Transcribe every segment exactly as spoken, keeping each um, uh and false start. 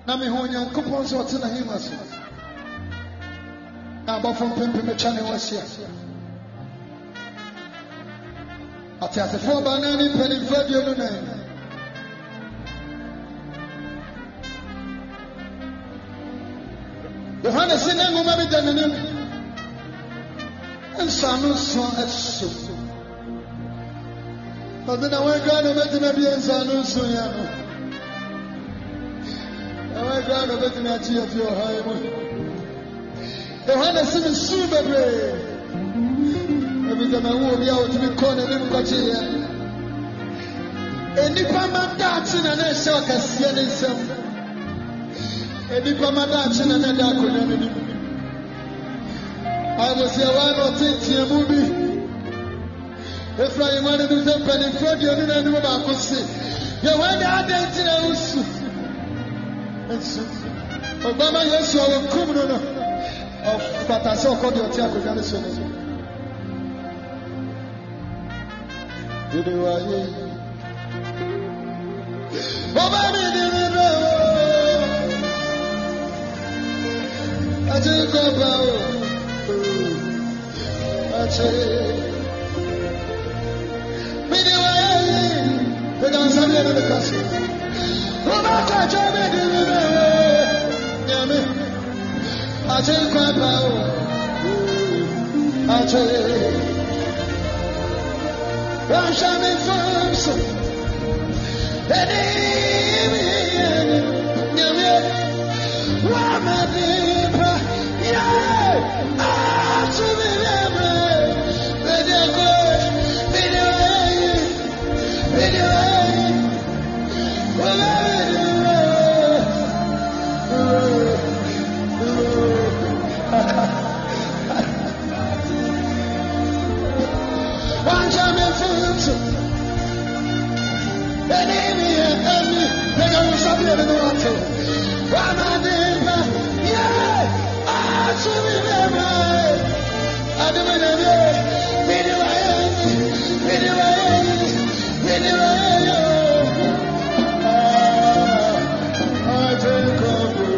me home, young coupons or ten himas. Now, from Pimpin Channel was here. I tell the four banana penny for your name. Johannes in a woman than an and son son as so. But then I went down to make him a son so young. I went down to make him a tea of your high. Johannes in the super every time I walk out to be cornered in Kochia. And if I'm not dancing and I saw a seeing some. And if I'm not dancing and I don't I was here one or ten movie. If I wanted to jump and in front of you, I knew about to see. You went out dancing and so. Obama, yes, you are coming of but I saw called your tiago garrison. Did you are ye? Obama didn't know. I didn't go about. I say, Did you are ye? The dance of the castle. Obama, I didn't know. I take my power. I take. I'm shining from so. Why my people? Yeah, I to be never. Video good, video, video, video. One time in food, and Amy and me, they don't stop living the water. One of them, yeah, I should be there. I do it, video, video, video, video. I take over.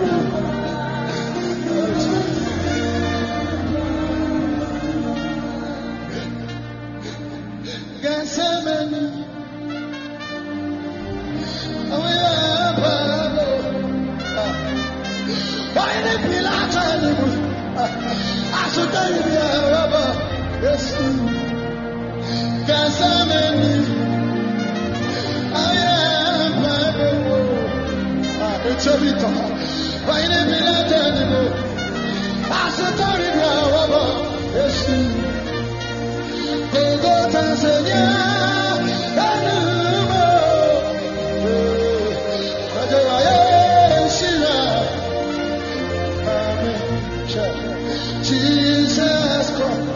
Jesus Christ.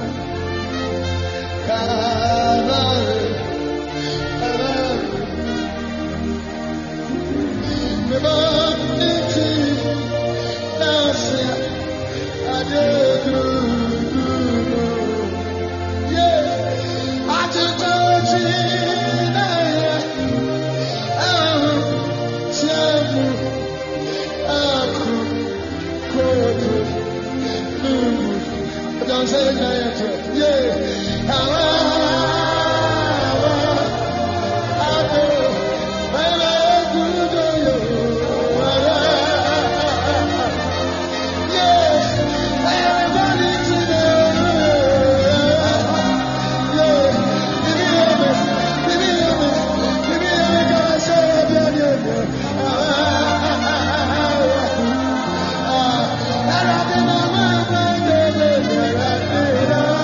I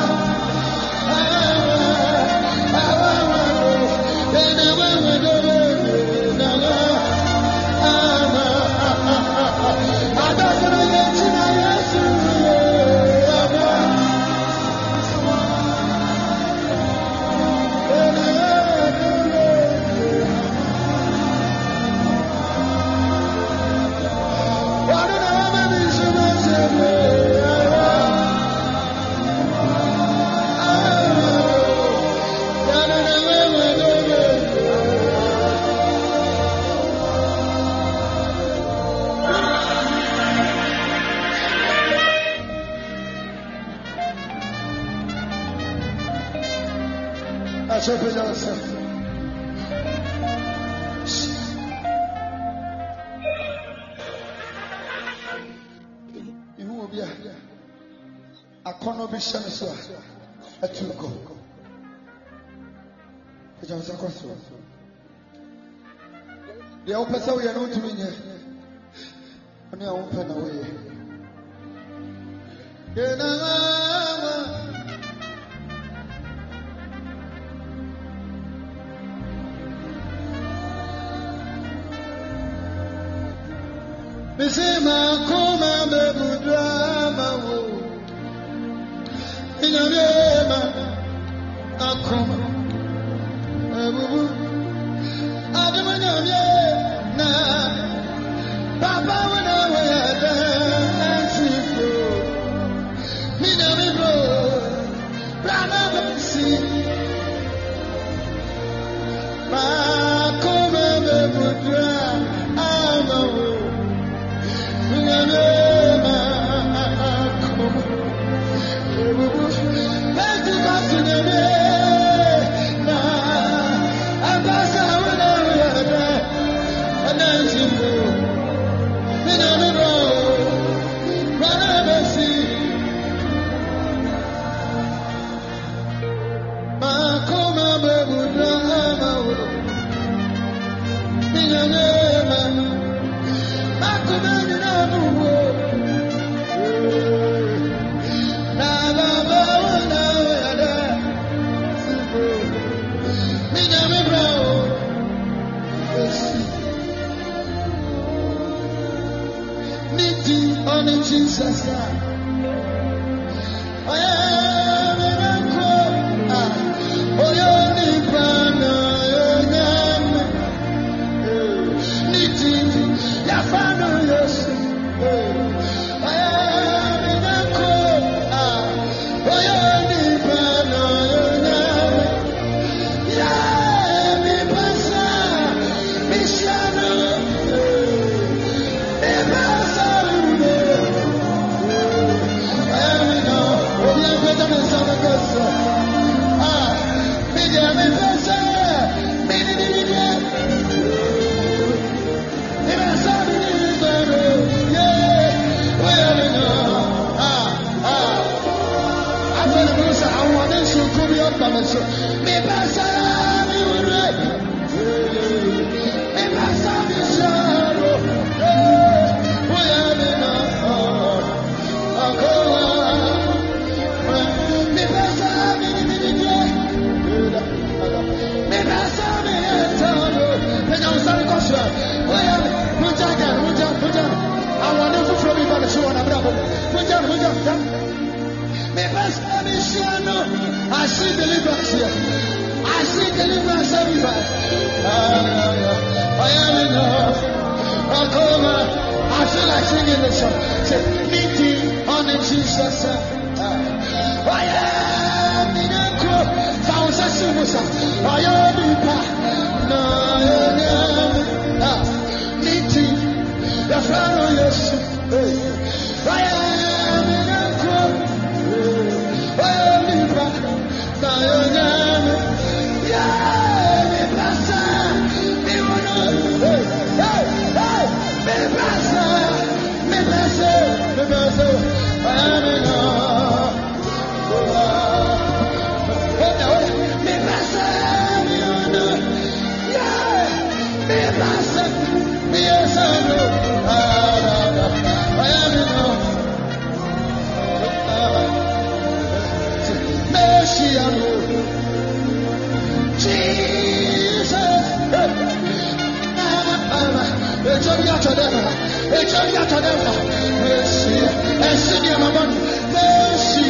Pacho Pedosa. You will be a corner bishop. A two go. The Johnson Crossroad. The open so we are not doing it. When you open away. Misema kuma bebudrama wo inyama akuma ebu adamanya na baba wana wada ansifo minami bro brana basi makuma bebudrama wo Jesus, I am in a crowd. Oh, you're the banner, you're your father, yes. I am in a crowd. Oh, you're the banner, yeah, me pasa, me shano, me pasa. Me pasa, me urre, me pasa, me sharo, voy a ver, me pasa, me me me pasa, me entano, me no sabe cosa, voy a ver, mucha cara, mucha, mucha, I want to throw me by the show on a bravo, mucha, mucha, me pasa, me shano. I see deliverance here. I see deliverance everywhere. I am enough. I feel like singing the song. Say, meeting on the Jesus. I am in a crowd. Found a super. I am in a meeting. The fellow, yes. I am in a crowd. I am in a yeah, me pasa, me uno, hey, hey, hey, me pasa, me pasa, me pasa, I am enough. Me pasa, me uno, yeah, me pasa, me pasa, I am enough. Messiah. Jesus, it's only after them. It's only after them. Mercy, and sing your mama. Mercy,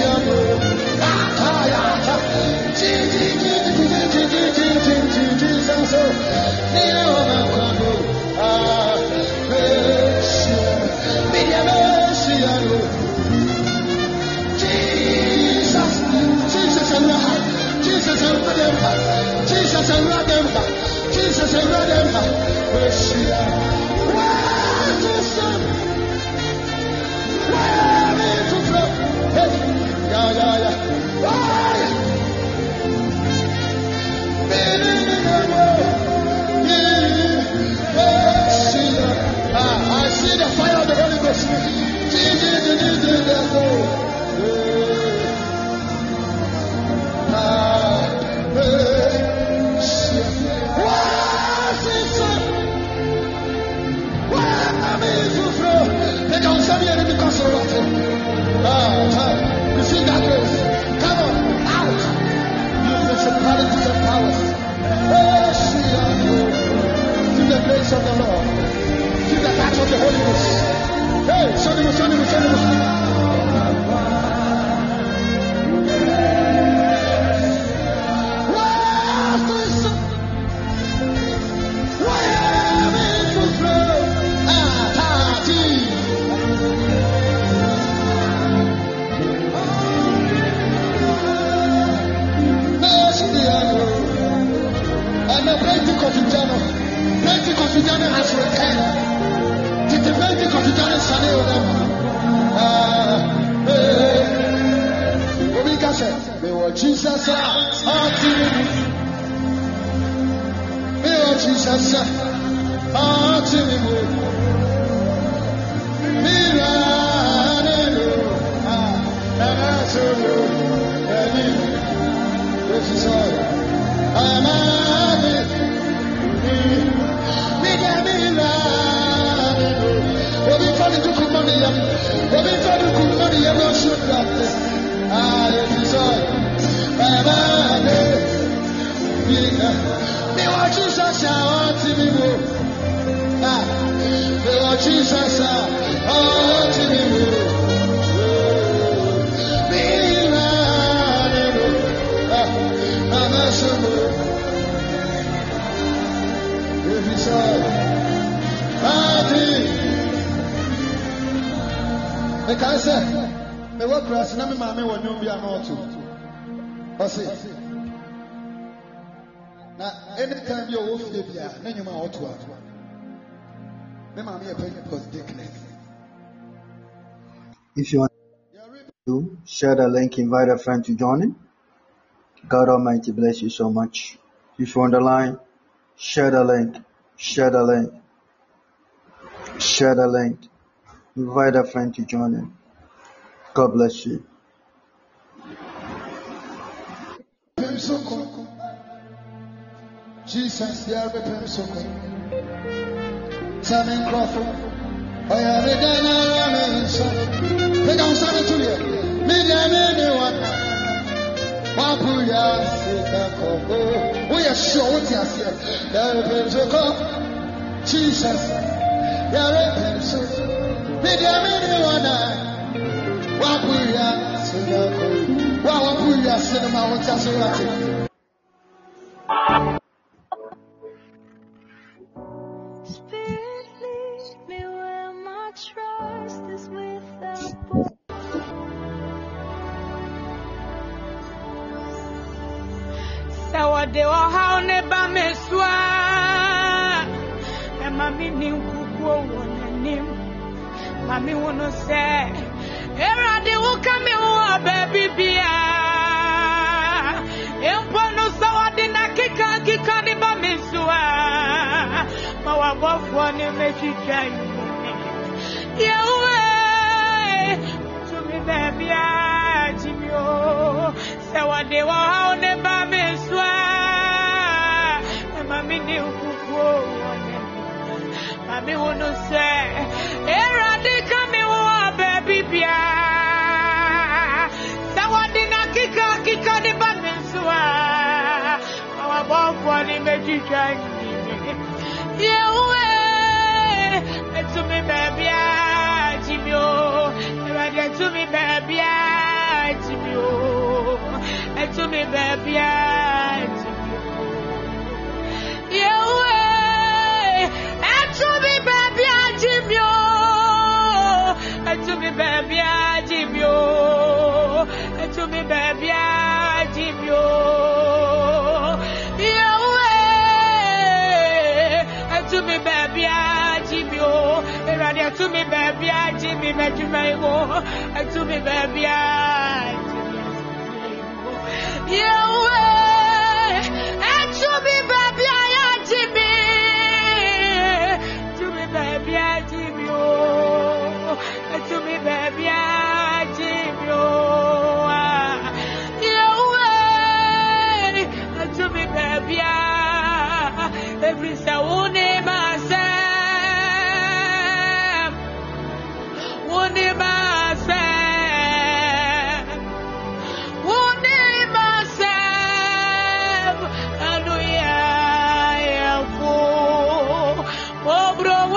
Jesus, and let them. Jesus, and let them. Mercy, where to son? Where to flow? Jesus, oh Jesus, Jesus, oh, to me, I said, the work class, and I'm mammy when you be a motor. I see. Now, anytime you're off the beer, then you might to have. If you want to share the link, invite a friend to join in. God Almighty bless you so much. If you're on the line, share the link, share the link, share the link, invite a friend to join in. God bless you. Jesus, you are the person. Sammy Crawford, I am a dynamic. They don't sound to you. Million anyone. Mapuya, Sita, we are sure what you said. Jesus, you are a person. Million anyone. Mapuya, Sita, Mapuya, Cinema, what you say. De wa ha ne ba me swa e ma mi ni nkuku wonanim ma mi wono se erade wo ka me wo baby bia empo no so wade na kika kika de ba me swa ma wa bofo ni me twitwa ye we to me baby a jimio se wade wa ha ne ba me swa Mami ni ukuku Mami wono se Erade kami wo baby bia Sawadi na kika kika ni bamenswa Awa bofo ni mejicha Yewe Etumi baby a jimio Erade etumi baby a jimio Etumi baby a jimio To me, baby, I give you. To me, baby, I give you. Yeah, to me, baby, I give you. To me, baby, I give me, make you my war. To me, baby, I give you. Yeah, to me, baby, I give me. To me, baby, I give you. To me, baby, I give you. You to me, baby, every sound in myself, one in myself, one in myself, and we are full. Oh, bro.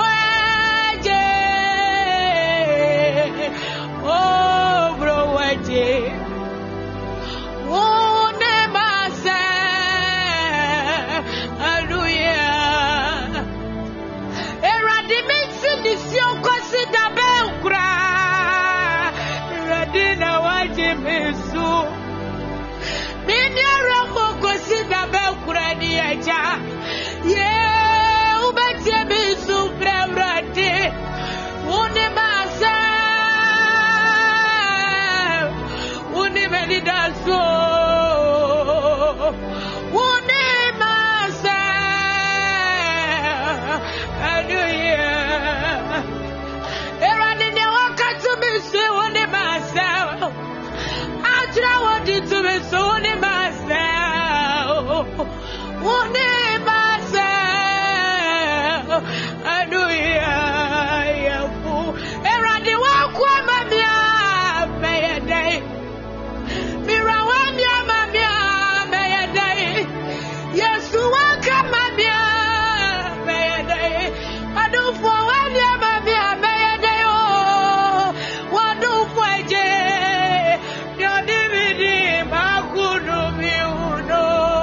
Yeah, ubete bisu prewrate une masa une Suni myself. Wuni myself. Hallelujah. Yafu. Eradi wakwa mamia. Mayday. Mira wamia mamia. Mayday. Yesu waka mamia. Mayday. Adu for wamia mamia. Mayday. Oh. Wadu for je. Yodividi makudu miuno.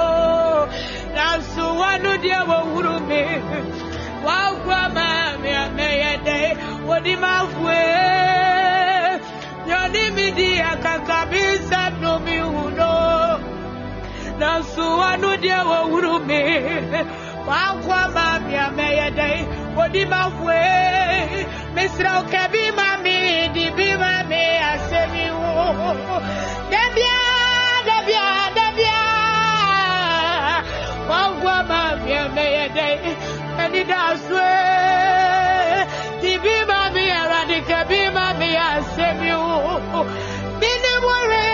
Nasu wanu dia wawurumi. Wakwa mamia. Mayday. Wadi mafwe. Yodividi akakabisa no miuno. Nasu wanu dia wawurumi. Wakwa mamia. Mayday. Wadi mafwe. Misra ukebi mami. Dibi mami. Asemi wo. Debia. Debia. Debia. Wakwa mamia. Mayday. Eni daswe. Dibi mami. Aradike bi mami. Asemi wo. Bini mwere.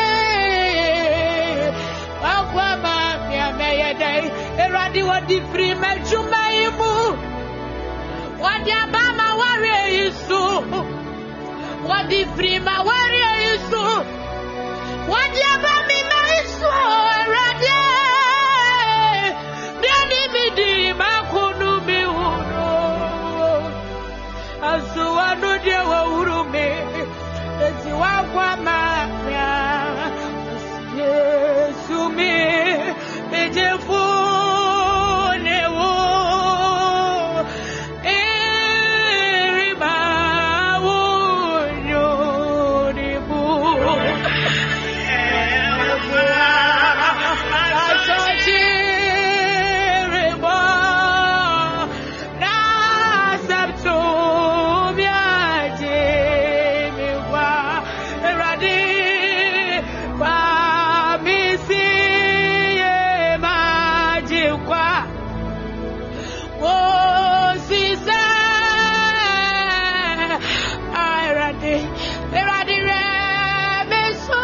Wakwa mamia. Mayday. Eradi wadi free mejuma imu. Wadi abama warrior Yesu. Wadi free ma warrior Yesu. Wadi abami ma Yesu. Eradi. Dani bidi makunu miuno. Asu wanu dia wa urume. Eti wakwa mamia. Yesu mi. Ejefu newo. Eriba wunyo nibu. Asochi riba. Nasabtu miaje miwa. Eradi kwa misi ye majikwa. Oh, Caesar, Iradi, Iradi, Remesu,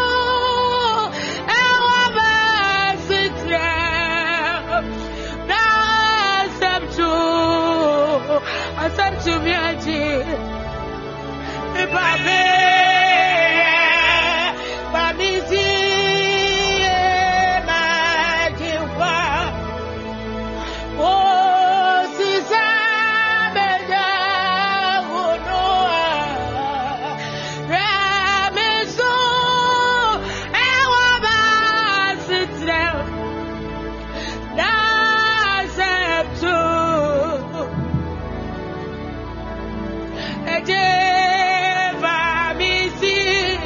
Ewabasitra, Nasabtu, Asabtu Miaji, Ibabe, Bamizi, Majikwa. Oh, Caesar, Beja, Unoa, Remesu, Ewabasitra, Nasabtu, Ejeva misi,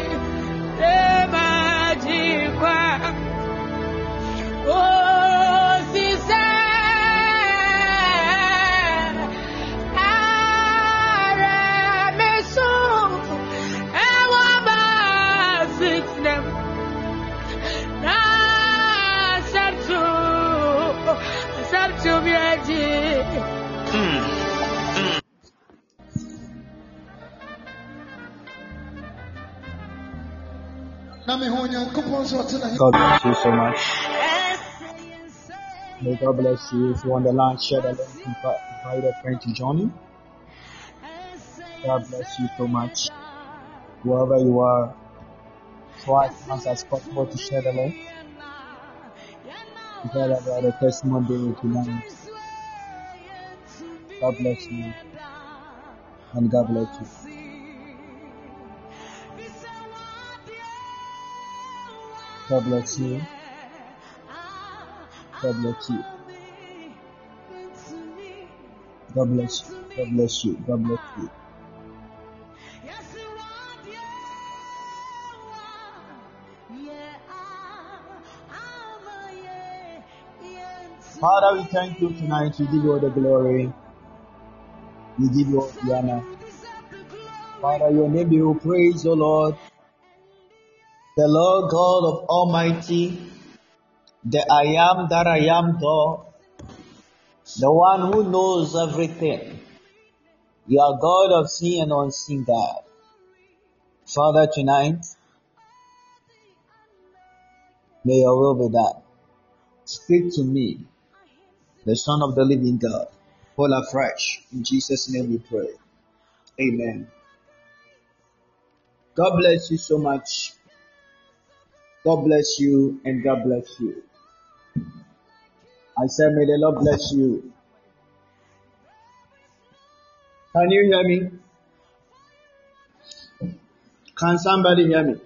Emajikwa. Oh, Caesar, Aramesu, Ewabasitnem, Nasabtu, Nasabtu miaji. Nami honya kuponzo tonight. God bless you so much. May God bless you. If you're on the line, share the link, invite invite a friend to join you. God bless you so much. Wherever you are, try as much as possible to share the link. Tell about the testimony tonight. God bless you. And God bless you. God bless you. God bless you. God bless you. God bless you. God bless you. Father, we thank you tonight. We give you all the glory. We give you all the honor. Father, your name be praised, O Lord. The Lord God of Almighty, the I am that I am God, the one who knows everything. You are God of seen and unseen God. Father, tonight, May your will be done. Speak to me, the Son of the living God, fall afresh. In Jesus' name we pray. Amen. God bless you so much. God bless you and God bless you. I said, may the Lord bless you. Can you hear me? Can somebody hear me?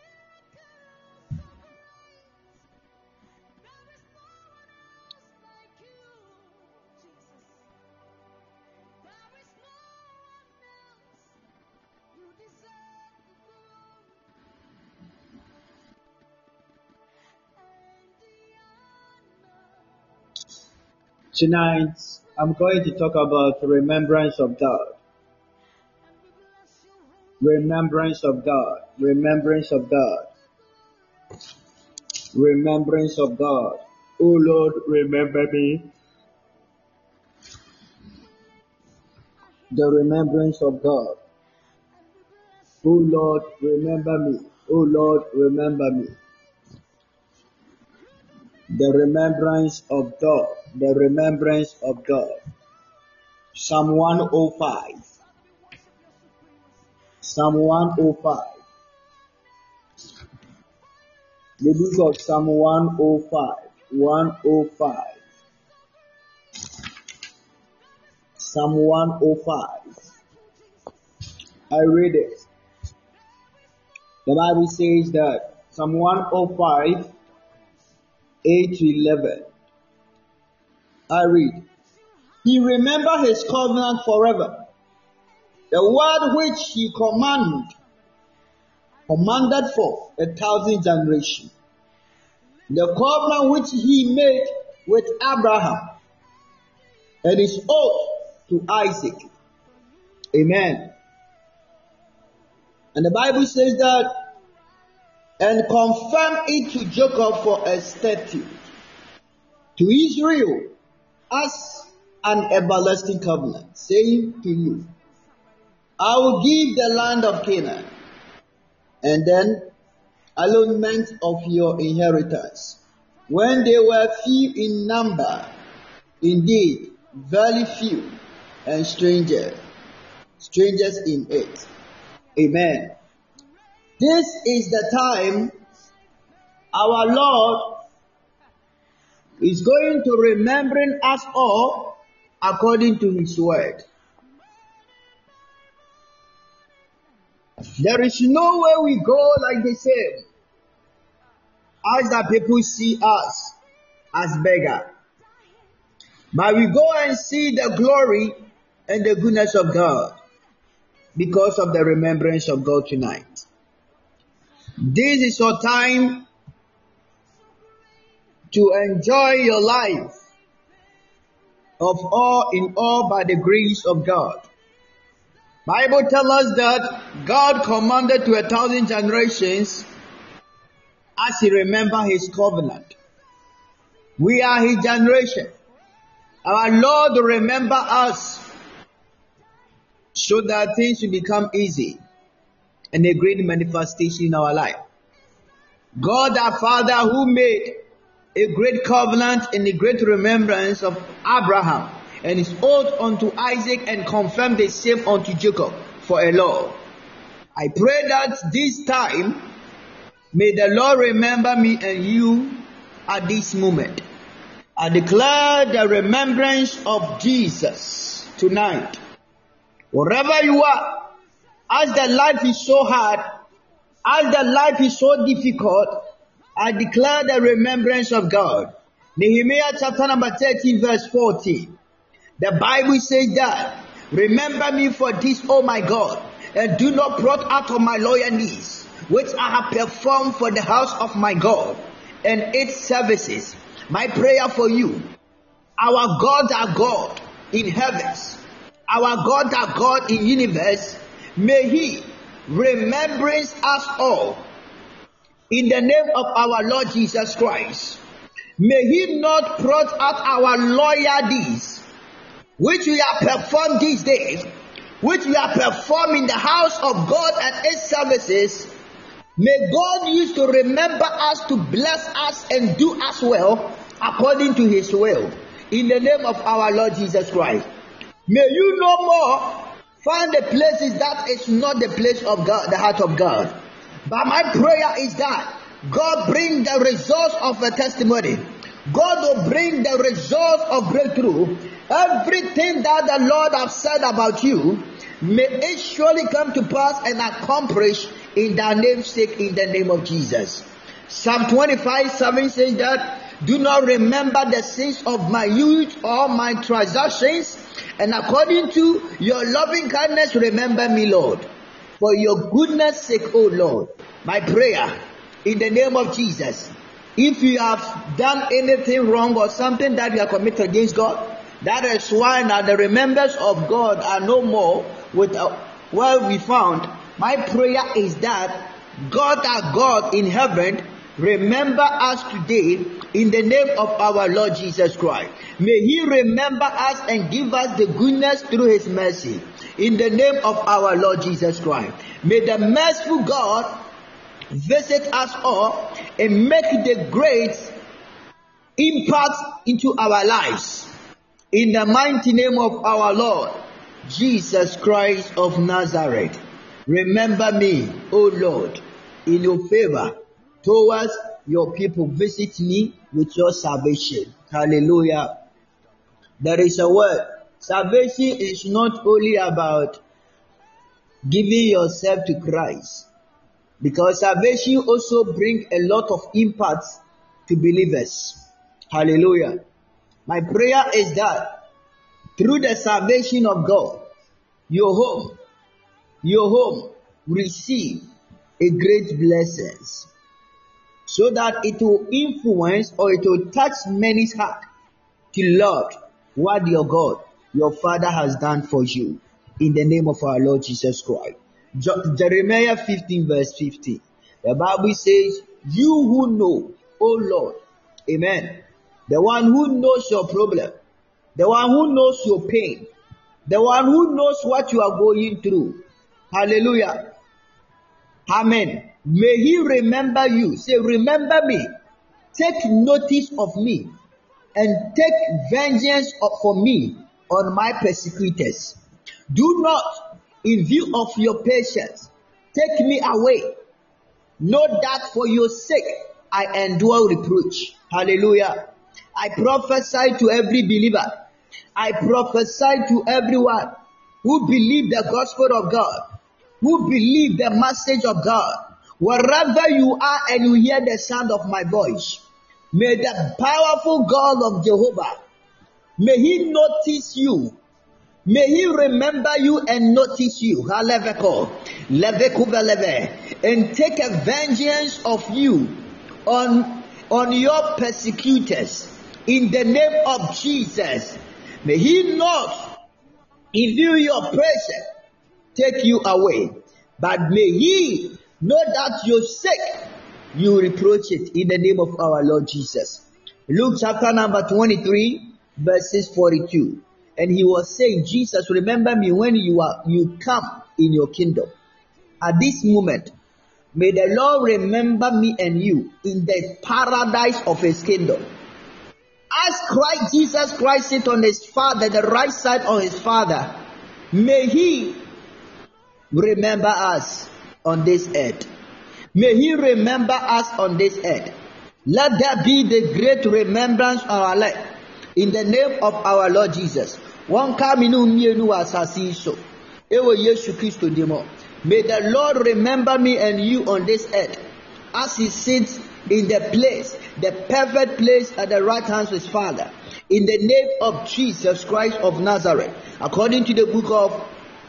Tonight, I'm going to talk about remembrance of God. Remembrance of God. Remembrance of God. Remembrance of God. Oh Lord, remember me. The remembrance of God. Oh Lord, remember me. Oh Lord, remember me. The remembrance of God. The remembrance of God. Psalm one oh five. Psalm one oh five. The book of Psalm one oh five. one oh five. Psalm one oh five. I read it. The Bible says that Psalm one oh five, eight to eleven. I read. He remembered his covenant forever, the word which he commanded, commanded for a thousand generations, the covenant which he made with Abraham and his oath to Isaac. Amen. And the Bible says that, and confirm it to Jacob for a statute, to Israel as an everlasting covenant, saying to you, I will give the land of Canaan, and then allotment of your inheritance, when they were few in number, indeed very few, and strangers, strangers in it. Amen. This is the time our Lord is going to remembering us all according to his word. There is no way we go like the same as the people see us as beggar. But we go and see the glory and the goodness of God because of the remembrance of God tonight. This is your time to enjoy your life of all in all by the grace of God. Bible tells us that God commanded to a thousand generations as he remembered his covenant. We are his generation. Our Lord will remember us so that things will become easy and a great manifestation in our life. God our Father who made a great covenant and a great remembrance of Abraham and his oath unto Isaac and confirmed the same unto Jacob for a law. I pray that this time may the Lord remember me and you at this moment. I declare the remembrance of Jesus tonight. Wherever you are, as the life is so hard, as the life is so difficult, I declare the remembrance of God. Nehemiah chapter number thirteen verse fourteen. The Bible says that, remember me for this, O my God, and do not blot out of my loyalties, which I have performed for the house of my God and its services. My prayer for you, our God, our God in heavens, our God, our God in universe, may he remembrance us all in the name of our Lord Jesus Christ. May he not blot out our loyalties, which we have performed these days, which we have performed in the house of God and its services. May God use to remember us, to bless us and do us well according to his will. In the name of our Lord Jesus Christ. May you no more find the places that is not the place of God, the heart of God. But my prayer is that God bring the results of a testimony. God will bring the results of breakthrough. Everything that the Lord has said about you, may it surely come to pass and accomplish in thy name's sake, in the name of Jesus. Psalm twenty-five seven says that, do not remember the sins of my youth or my transgressions, and according to your loving kindness, remember me, Lord. For your goodness' sake, O Lord. My prayer, in the name of Jesus, if you have done anything wrong or something that you have committed against God, that is why now the remembrance of God are no more with uh, where we found. My prayer is that God, our God in heaven, remember us today in the name of our Lord Jesus Christ. May he remember us and give us the goodness through his mercy in the name of our Lord Jesus Christ. May the merciful God visit us all and make the great impact into our lives in the mighty name of our Lord Jesus Christ of Nazareth. Remember me, O Lord, in your favor towards your people. Visit me with your salvation. Hallelujah. There is a word. Salvation is not only about giving yourself to Christ, because salvation also brings a lot of impact to believers. Hallelujah. My prayer is that through the salvation of God, your home, your home receive a great blessings, so that it will influence or it will touch many's heart to love what your God, your Father has done for you. In the name of our Lord Jesus Christ. Je- Jeremiah fifteen verse fifteen. The Bible says, you who know, O Lord, amen, the one who knows your problem, the one who knows your pain, the one who knows what you are going through. Hallelujah. Amen. May he remember you. Say, remember me. Take notice of me and take vengeance for me on my persecutors. Do not, in view of your patience, take me away. Know that for your sake I endure reproach. Hallelujah. I prophesy to every believer. I prophesy to everyone who believe the gospel of God, who believe the message of God. Wherever you are and you hear the sound of my voice, may the powerful God of Jehovah, may he notice you. May he remember you and notice you. And take a vengeance of you on, on your persecutors. In the name of Jesus. May he not, in view your pressure, take you away. But may he know that your sake, you reproach it in the name of our Lord Jesus. Luke chapter number twenty-three, verses forty-two. And he was saying, Jesus, remember me when you are you come in your kingdom. At this moment, may the Lord remember me and you in the paradise of his kingdom. As Christ, Jesus Christ sit on his Father, the right side of his Father, may he remember us on this earth. May he remember us on this earth. Let there be the great remembrance of our life. In the name of our Lord Jesus. One kaminu mienu asasi so. Ewo Yesu Kristo demo. May the Lord remember me and you on this earth, as he sits in the place, the perfect place at the right hand of his Father. In the name of Jesus Christ of Nazareth. According to the book of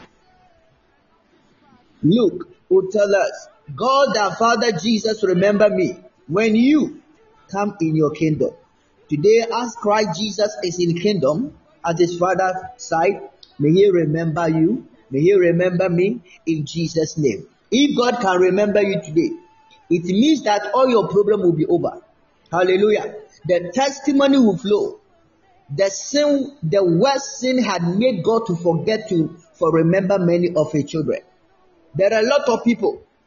Luke, who tell us, God our Father Jesus, remember me when you come in your kingdom. Today, as Christ Jesus is in kingdom at his Father's side, may he remember you. May he remember me in Jesus' name. If God can remember you today, it means that all your problem will be over. Hallelujah. The testimony will flow. The sin, the worst sin had made God to forget to for remember many of his children. There are a lot of people.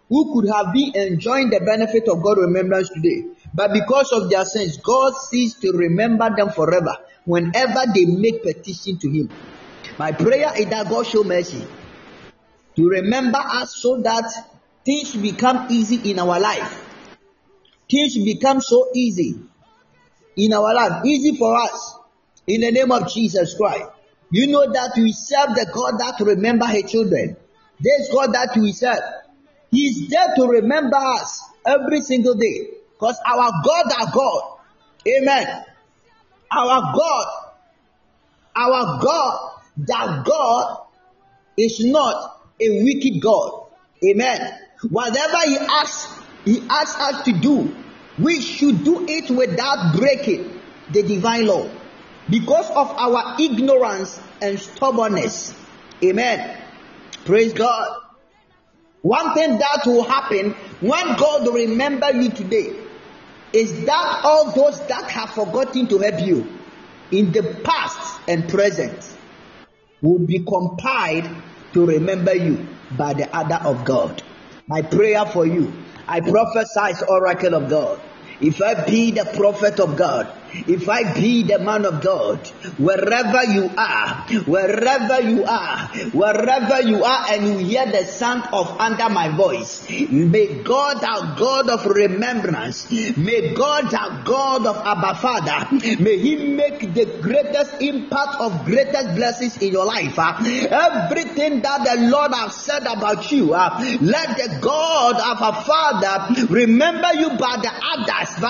who could have been enjoying the benefit of God's remembrance today. But because of their sins, God ceased to remember them forever whenever they make petition to Him. My prayer is that God show mercy to remember us so that things become easy in our life. Things become so easy in our life, easy for us. In the name of Jesus Christ. You know that we serve the God that remember His children. This God that we serve, He is there to remember us every single day. Because our God, our God, amen. Our God, our God, that God is not a wicked God. Amen. Whatever He asks, He asks us to do, we should do it without breaking the divine law. Because of our ignorance and stubbornness. Amen. Praise God. One thing that will happen when God will remember you today is that all those that have forgotten to help you in the past and present will be compiled to remember you by the order of God. My prayer for you, I prophesy as oracle of God. If I be the prophet of God, if I be the man of God, wherever you are, wherever you are, wherever you are, and you hear the sound of under my voice, may God, our God of remembrance, may God, our God of Abba Father, may He make the greatest impact of greatest blessings in your life. Uh, everything that the Lord has said about you, uh, let the God of our Father remember you by the others. In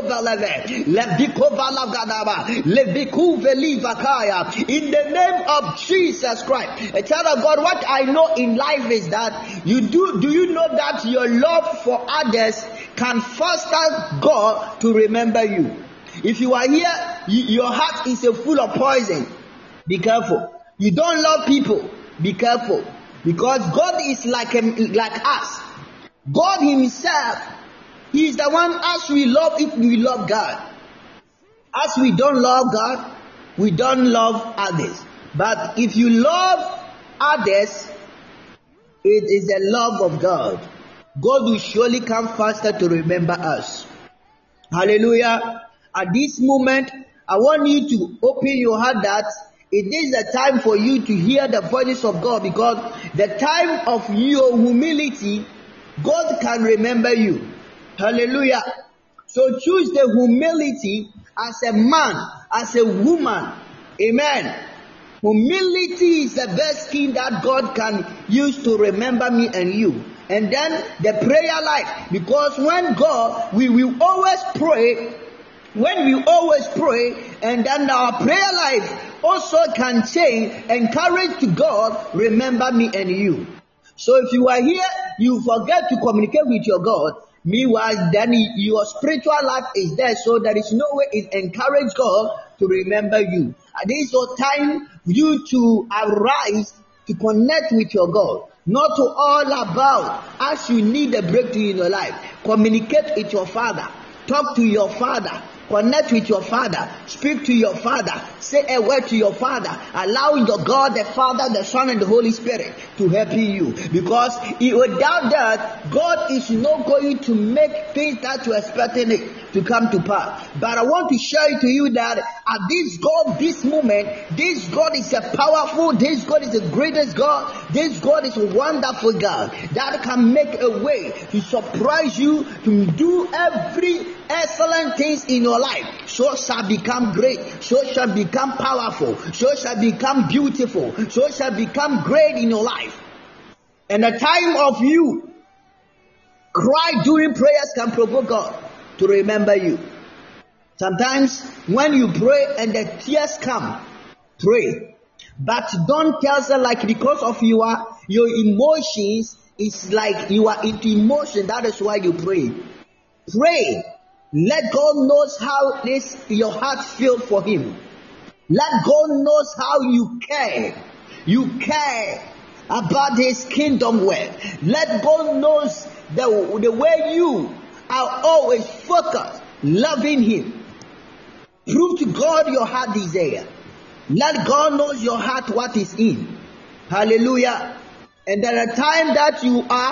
the name of Jesus Christ. A child of God, what I know in life is that you do do you know that your love for others can foster God to remember you. If you are here, you, your heart is a full of poison. Be careful. You don't love people. Be careful. Because God is like a, like us. God Himself, He is the one as we love if we love God. As we don't love God, we don't love others. But if you love others, it is the love of God. God will surely come faster to remember us. Hallelujah. At this moment, I want you to open your heart that it is the time for you to hear the voice of God, because the time of your humility, God can remember you. Hallelujah. So choose the humility as a man, as a woman. Amen. Humility is the best thing that God can use to remember me and you. And then the prayer life. Because when God, we will always pray. When we always pray, and then our prayer life also can change. Encourage to God, remember me and you. So if you are here, you forget to communicate with your God. Meanwhile, then your spiritual life is there, so there is no way it encourage God to remember you. And this is your time for you to arise to connect with your God. Not to all about as you need a breakthrough in your life. Communicate with your Father. Talk to your Father. Connect with your Father. Speak to your Father. Say a word to your Father. Allow your God, the Father, the Son, and the Holy Spirit to help you. Because without that, God is not going to make things that you're expecting it to come to pass. But I want to share to you that at this God, this moment, this God is a powerful, this God is the greatest God. This God is a wonderful God that can make a way to surprise you, to do every excellent things in your life. So shall become great. So shall become powerful. So shall become beautiful. So shall become great in your life. And the time of you cry during prayers can provoke God to remember you. Sometimes when you pray and the tears come, pray. But don't tell them like because of your, your emotions, it's like you are into emotion. That is why you pray. Pray. Let God knows how this your heart feels for Him. Let God knows how you care. You care about His kingdom work. Let God knows the, the way you are always focused, loving Him. Prove to God your heart desire. Let God knows your heart what is in. Hallelujah. And there are times that you are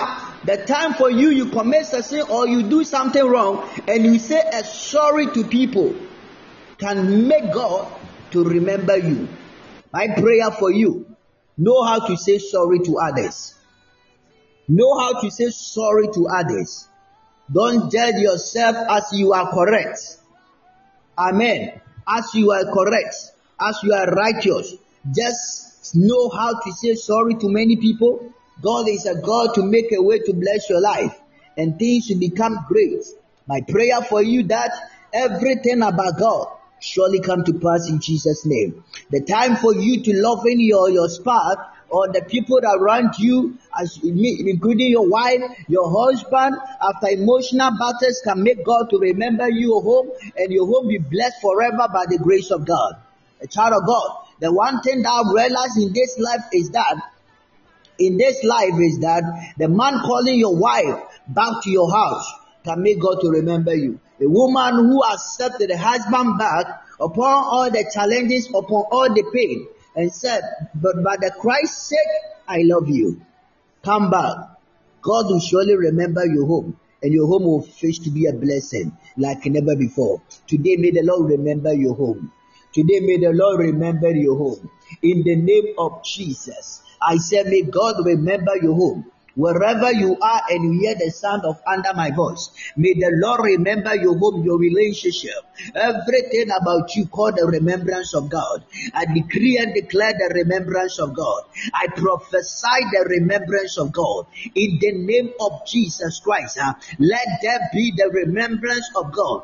The time for you, you commit a sin or you do something wrong and you say a sorry to people can make God to remember you. My prayer for you, know how to say sorry to others. Know how to say sorry to others. Don't judge yourself as you are correct. Amen. As you are correct, as you are righteous, just know how to say sorry to many people. God is a God to make a way to bless your life and things will become great. My prayer for you that everything about God surely come to pass in Jesus' name. The time for you to love in your, your spouse or the people around you, as including your wife, your husband, after emotional battles can make God to remember your home and your home be blessed forever by the grace of God. A child of God, the one thing that I've realized in this life is that in this life is that the man calling your wife back to your house can make God to remember you. A woman who accepted the husband back upon all the challenges, upon all the pain, and said, but by the Christ's sake, I love you. Come back. God will surely remember your home, and your home will face to be a blessing like never before. Today, may the Lord remember your home. Today, may the Lord remember your home. In the name of Jesus, I say, may God remember your home. Wherever you are and you hear the sound of under my voice, may the Lord remember your home, your relationship, everything about you call the remembrance of God. I decree and declare the remembrance of God. I prophesy the remembrance of God. In the name of Jesus Christ, uh, let there be the remembrance of God.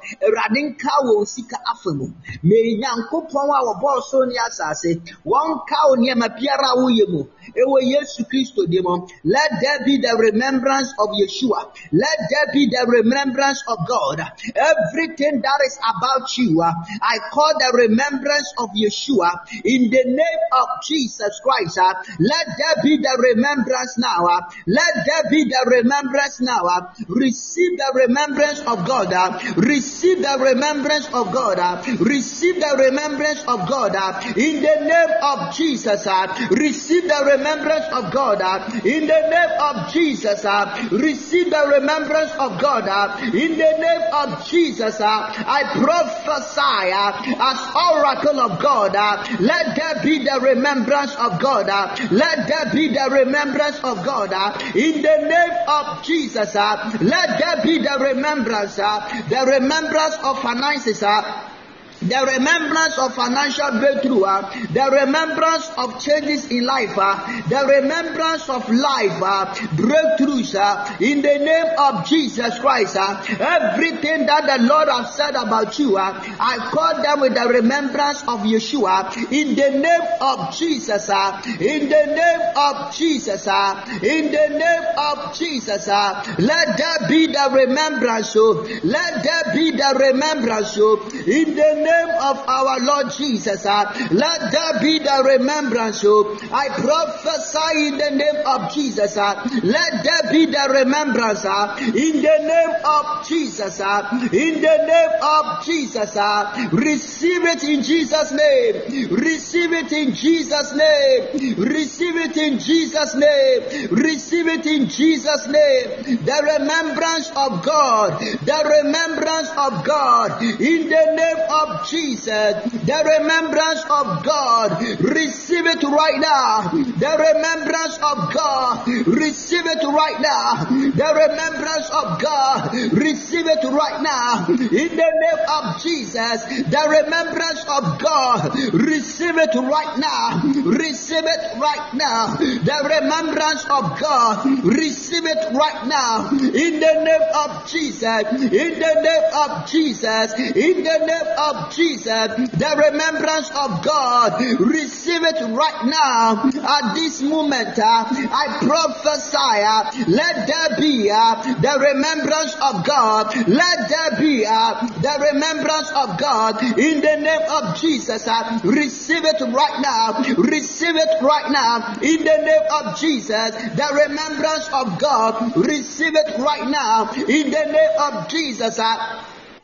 May Yankopon wa boss on the assassin, one cow near my Piara Uyemu, Ewa Yesu Christo demon, let there be the remembrance of Yeshua. Let there be the remembrance of God. Everything that is about you, uh, I call the remembrance of Yeshua in the name of Jesus Christ. Uh, let there be the remembrance now. Uh, let there be the remembrance now. Uh, receive the remembrance of God. Uh, receive the remembrance of God. Uh, receive the remembrance of God. Uh, in the name of Jesus. Uh, receive the remembrance of God. Uh, in the name of Jesus, uh, receive the remembrance of God uh, in the name of Jesus. Uh, I prophesy uh, as oracle of God. Uh, let there be the remembrance of God. Uh, let there be the remembrance of God uh, in the name of Jesus. Uh, let there be the remembrance, uh, the remembrance of finances. Uh, The remembrance of financial breakthrough, uh, the remembrance of changes in life, uh, the remembrance of life, uh, breakthroughs, uh, in the name of Jesus Christ. Uh, everything that the Lord has said about you, uh, I call them with the remembrance of Yeshua, in the name of Jesus, uh, in the name of Jesus, uh, in the name of Jesus. Uh, let there be the remembrance, oh, let there be the remembrance, oh, in the name of our Lord Jesus. Uh, let there be the remembrance. Oh, I prophesy in the name of Jesus. Uh, let there be the remembrance. Uh, in the name of Jesus. Uh, in the name of Jesus. Uh, receive it in Jesus' name. Receive it in Jesus' name. Receive it in Jesus' name. Receive it in Jesus' name. The remembrance of God. The remembrance of God. In the name of Jesus, the remembrance of God, receive it right now. The remembrance of God, receive it right now. The remembrance of God, receive it right now. In the name of Jesus, the remembrance of God, receive it right now. Receive it right now. The remembrance of God, receive it right now. In the name of Jesus, in the name of Jesus, in the name of Jesus, the remembrance of God, receive it right now. At this moment, uh, I prophesy, uh, let there be uh, the remembrance of God. Let there be uh, the remembrance of God in the name of Jesus. Uh, receive it right now. Receive it right now in the name of Jesus. The remembrance of God, receive it right now in the name of Jesus. Uh,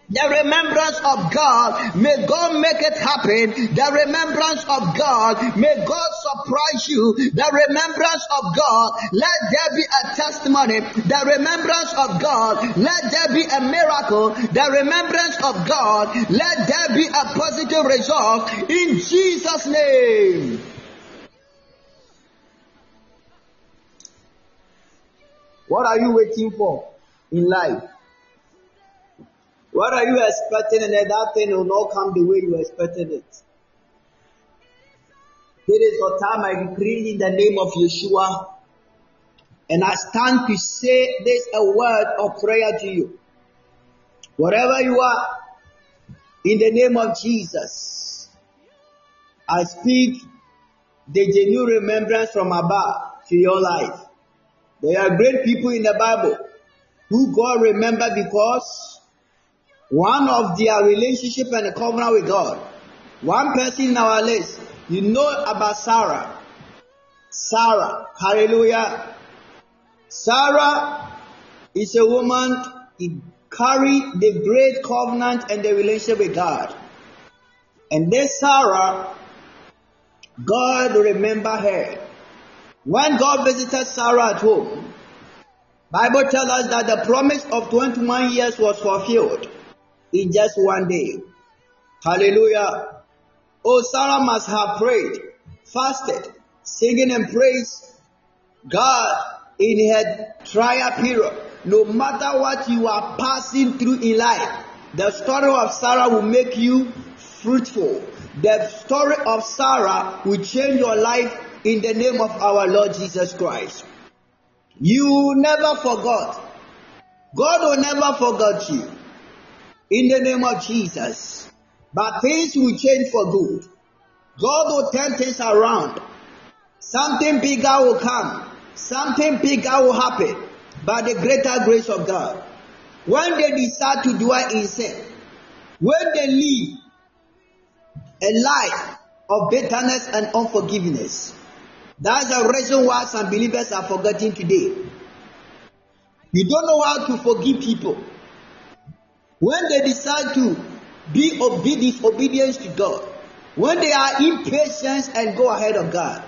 The remembrance of God, may God make it happen. The remembrance of God, may God surprise you. The remembrance of God, let there be a testimony. The remembrance of God, let there be a miracle. The remembrance of God, let there be a positive result in Jesus' name. What are you waiting for in life? What are you expecting, and that thing will not come the way you expected it? It is the time I decree in the name of Yeshua, and I stand to say this a word of prayer to you. Wherever you are, in the name of Jesus, I speak the genuine remembrance from above to your life. There are great people in the Bible who God remembered because one of their relationship and a covenant with God. One person in our list, you know about Sarah. Sarah, hallelujah. Sarah is a woman who carried the great covenant and the relationship with God. And this Sarah, God remember her. When God visited Sarah at home, Bible tells us that the promise of twenty-one years was fulfilled in just one day. Hallelujah. Oh, Sarah must have prayed, fasted, singing and praised God in her trial period. No matter what you are passing through in life, the story of Sarah will make you fruitful. The story of Sarah will change your life in the name of our Lord Jesus Christ. You never forgot. God will never forget you. In the name of Jesus. But things will change for good. God will turn things around. Something bigger will come. Something bigger will happen. By the greater grace of God. When they decide to dwell in sin, when they live a life of bitterness and unforgiveness, that's the reason why some believers are forgetting today. You don't know how to forgive people. When they decide to be obe- disobedience to God, when they are impatient and go ahead of God,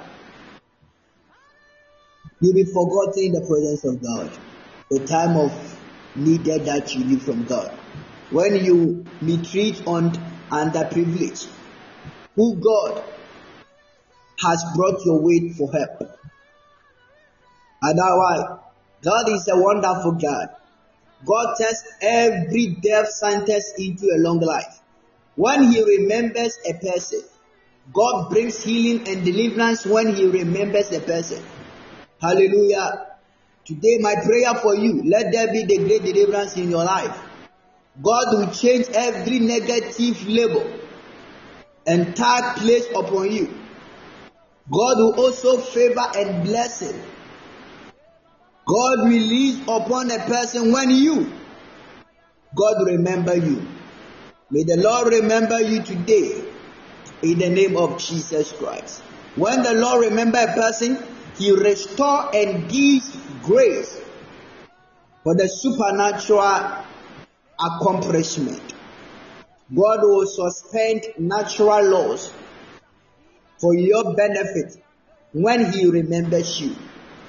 you'll be forgotten in the presence of God. The time of needed that you need from God. When you mistreat on underprivileged, who God has brought your way for help. Otherwise, God is a wonderful God. God turns every death sentence into a long life. When He remembers a person, God brings healing and deliverance when He remembers a person. Hallelujah. Today, my prayer for you, let there be the great deliverance in your life. God will change every negative label and tag placed upon you. God will also favor and bless it. God release upon a person when you, God remember you. May the Lord remember you today in the name of Jesus Christ. When the Lord remember a person, He restore and gives grace for the supernatural accomplishment. God will suspend natural laws for your benefit when He remembers you.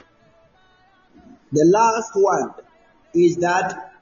The last one is that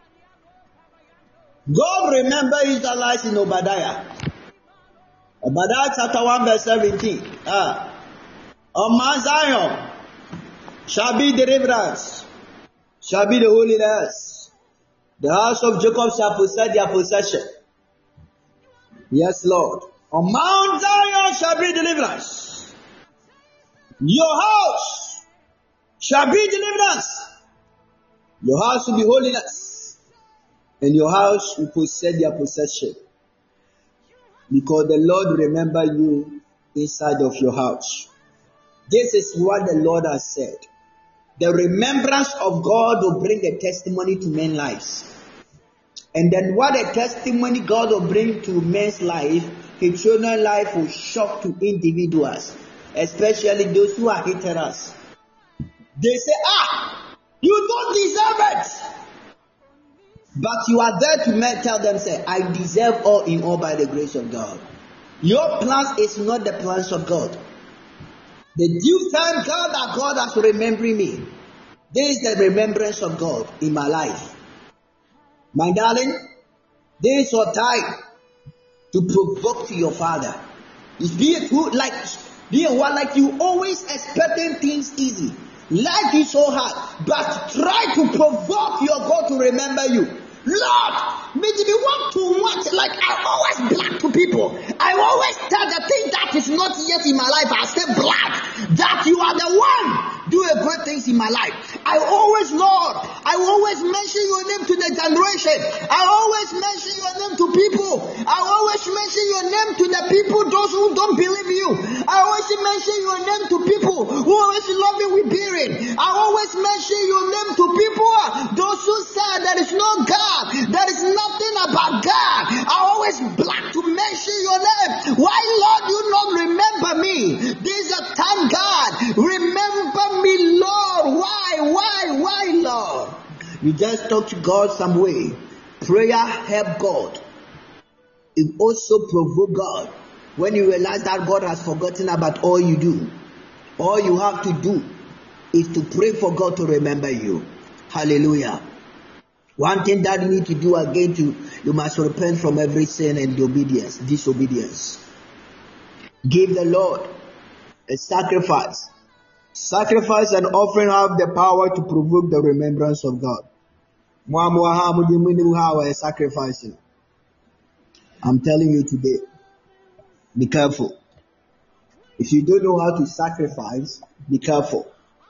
God remember Israelites in Obadiah. Obadiah chapter one verse seventeen. Ah. On Mount Zion shall be deliverance, shall be the holiness. The house of Jacob shall possess their possession. Yes, Lord. On Mount Zion shall be deliverance. Your house shall be deliverance. Your house will be holiness. And your house will possess their possession. Because the Lord remember you inside of your house. This is what the Lord has said. The remembrance of God will bring a testimony to men's lives. And then what a testimony God will bring to men's life, His children's life will shock to individuals, especially those who are hating us. They say, ah, you don't deserve it. But you are there to tell them, say, I deserve all in all by the grace of God. Your plans is not the plans of God. The due time God that God has remembering me. This is the remembrance of God in my life. My darling, this is your time to provoke to your father. It's being who like being one like you always expecting things easy. Life is so hard, but try to provoke your God to remember you. Lord, maybe you want to watch, like I always black to people. I always tell the thing that is not yet in my life, I say black, that you are the one doing great things in my life. I always, Lord, I always mention your name to the generation. I always mention your name to people. I always mention your name to the people, those who don't believe you. I always mention your name to people who always love you with bearing. I always mention your name to people, those who say there is no God. There is nothing about God. I always black to mention your name. Why, Lord, you not remember me? This is a time, God. Remember me, Lord. Why, why, why, Lord? You just talk to God some way. Prayer help God. It also provoke God. When you realize that God has forgotten about all you do, all you have to do is to pray for God to remember you. Hallelujah. One thing that you need to do again, to you must repent from every sin and obedience, disobedience. Give the Lord a sacrifice. Sacrifice and offering have the power to provoke the remembrance of God. Sacrificing. I'm telling you today, be careful. If you don't know how to sacrifice, be careful.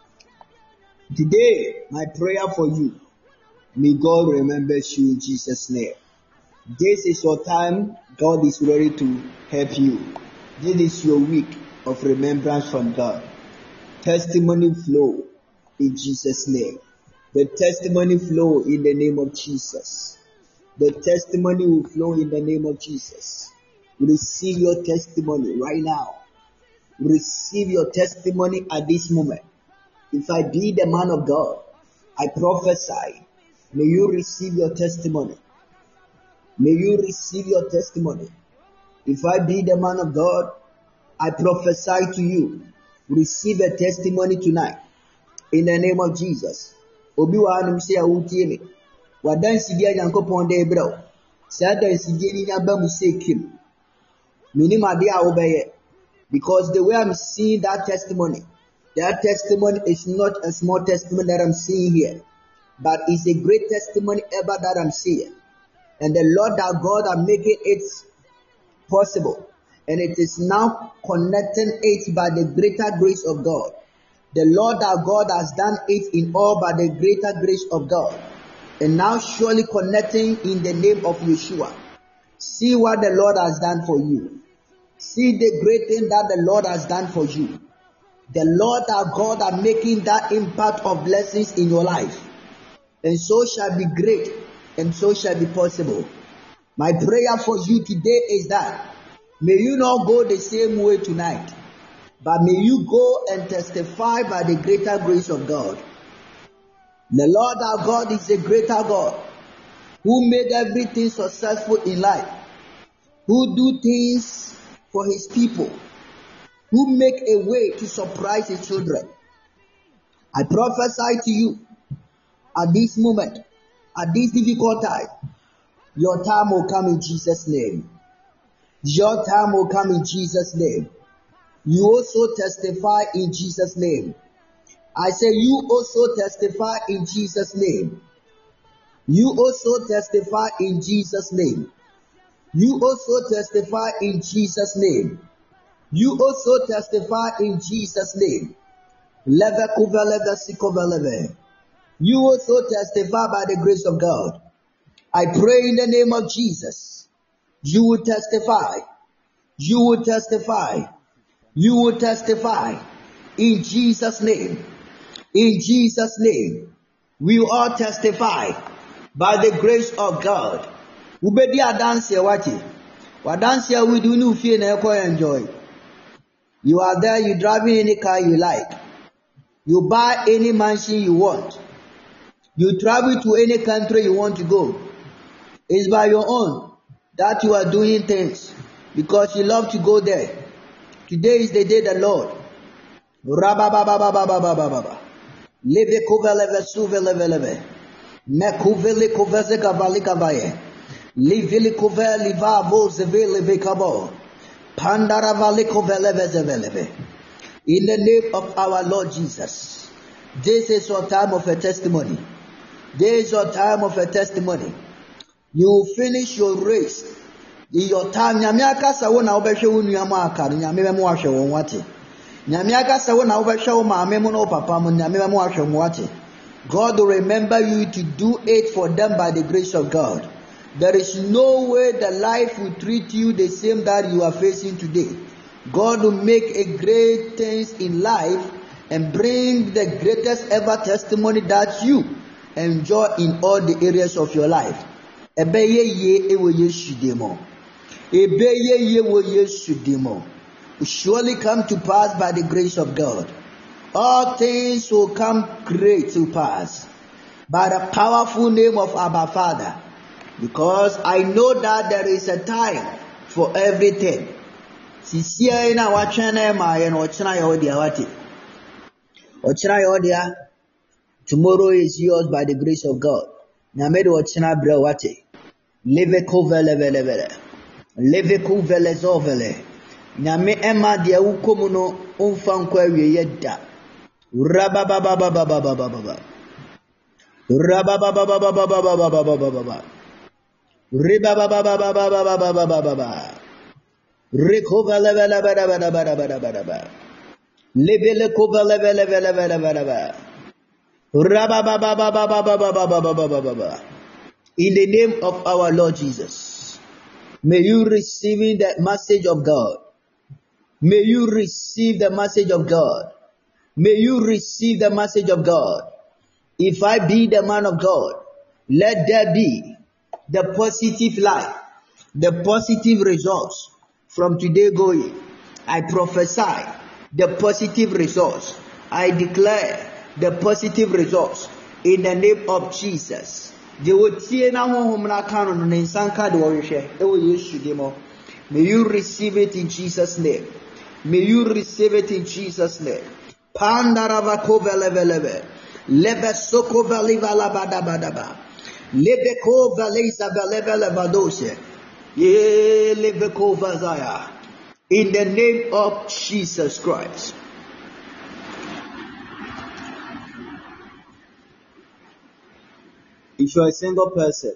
Today, my prayer for you, may God remember you in Jesus' name. This is your time. God is ready to help you. This is your week of remembrance from God. Testimony flow in Jesus' name. The testimony flow in the name of Jesus. The testimony will flow in the name of Jesus. Receive your testimony right now. Receive your testimony at this moment. If I be the man of God, I prophesy. May you receive your testimony. May you receive your testimony. If I be the man of God, I prophesy to you. Receive a testimony tonight. In the name of Jesus. Obi wa anum se awutie me. Wadansi dia Nyankopon de ebrao. Sa dansi dia ni aba mu se kim. Minim ade a obeye. Because the way I'm seeing that testimony, that testimony is not a small testimony that I'm seeing here, but it's a great testimony ever that I'm seeing. And the Lord our God are making it possible. And it is now connecting it by the greater grace of God. The Lord our God has done it in all by the greater grace of God. And now surely connecting in the name of Yeshua. See what the Lord has done for you. See the great thing that the Lord has done for you. The Lord our God are making that impact of blessings in your life. And so shall be great, and so shall be possible. My prayer for you today is that may you not go the same way tonight, but may you go and testify by the greater grace of God. The Lord our God is a greater God who made everything successful in life, who do things for his people, who make a way to surprise his children. I prophesy to you at this moment, at this difficult time, your time will come in Jesus' name. Your time will come in Jesus' name. You also testify in Jesus' name. I say you also testify in Jesus' name. You also testify in Jesus' name. You also testify in Jesus' name. You also testify in Jesus' name. You also testify by the grace of God. I pray in the name of Jesus. You will testify. You will testify. You will testify. In Jesus' name. In Jesus' name. We will all testify by the grace of God. Ubedi adansi wati. Wadansi we do no fear na enjoy. You are there, you driving any car you like. You buy any mansion you want. You travel to any country you want to go. It's by your own that you are doing things because you love to go there. Today is the day the Lord. Rababababababababa. Leve koveleve suveleve. Mekuvele koveze kavali kavaye. Livili kove liva vo zeve leve kabo. Pandara vale koveleve zeveleve. In the name of our Lord Jesus. This is your time of a testimony. This is your time of a testimony. You finish your race. In your time, nyamiaka sa wona obehwe wonu amu aka, nyame memo ahwe won wate. Nyamiaka sa wona obehwe wo maame mu no papa mu, nyame memo ahwe won wate. God will remember you to do it for them by the grace of God. There is no way the life will treat you the same that you are facing today. God will make a great things in life and bring the greatest ever testimony that you enjoy in all the areas of your life. Ebeye ye ewo Yesu demo. Ebeye ye wo Yesu demo. Will surely come to pass by the grace of God. All things will come great to pass by the powerful name of Abba Father. Because I know that there is a time for everything. Sisia na wachana ma ye no ochina ye odia wati. Ochina ye odia. Tomorrow is yours by the grace of God. Nyame de ochina bre wati. Leve kovele vele vele. Leve kovele zovele. Nyame ema dia ukomu no umfa nkwa wie yeda. Rabababababababababa. Rababababababababababa. Ribabababababababababa. Rikovele vele vele vele vele vele vele. Lebele kovele vele vele vele vele vele. Rabababababababababababa. In the name of our Lord Jesus, may you receive the message of God. May you receive the message of God. May you receive the message of God. If I be the man of God, let there be the positive life, the positive results from today going. I prophesy the positive results. I declare the positive results in the name of Jesus. May you receive it in Jesus' name. May you receive it in Jesus' name. Pandaravakoveleve. Lebe soko valiva la badabadaba. Lebe ko valeza valeve vadose. Ye lebe ko vazaya. In the name of Jesus Christ. If you are a single person,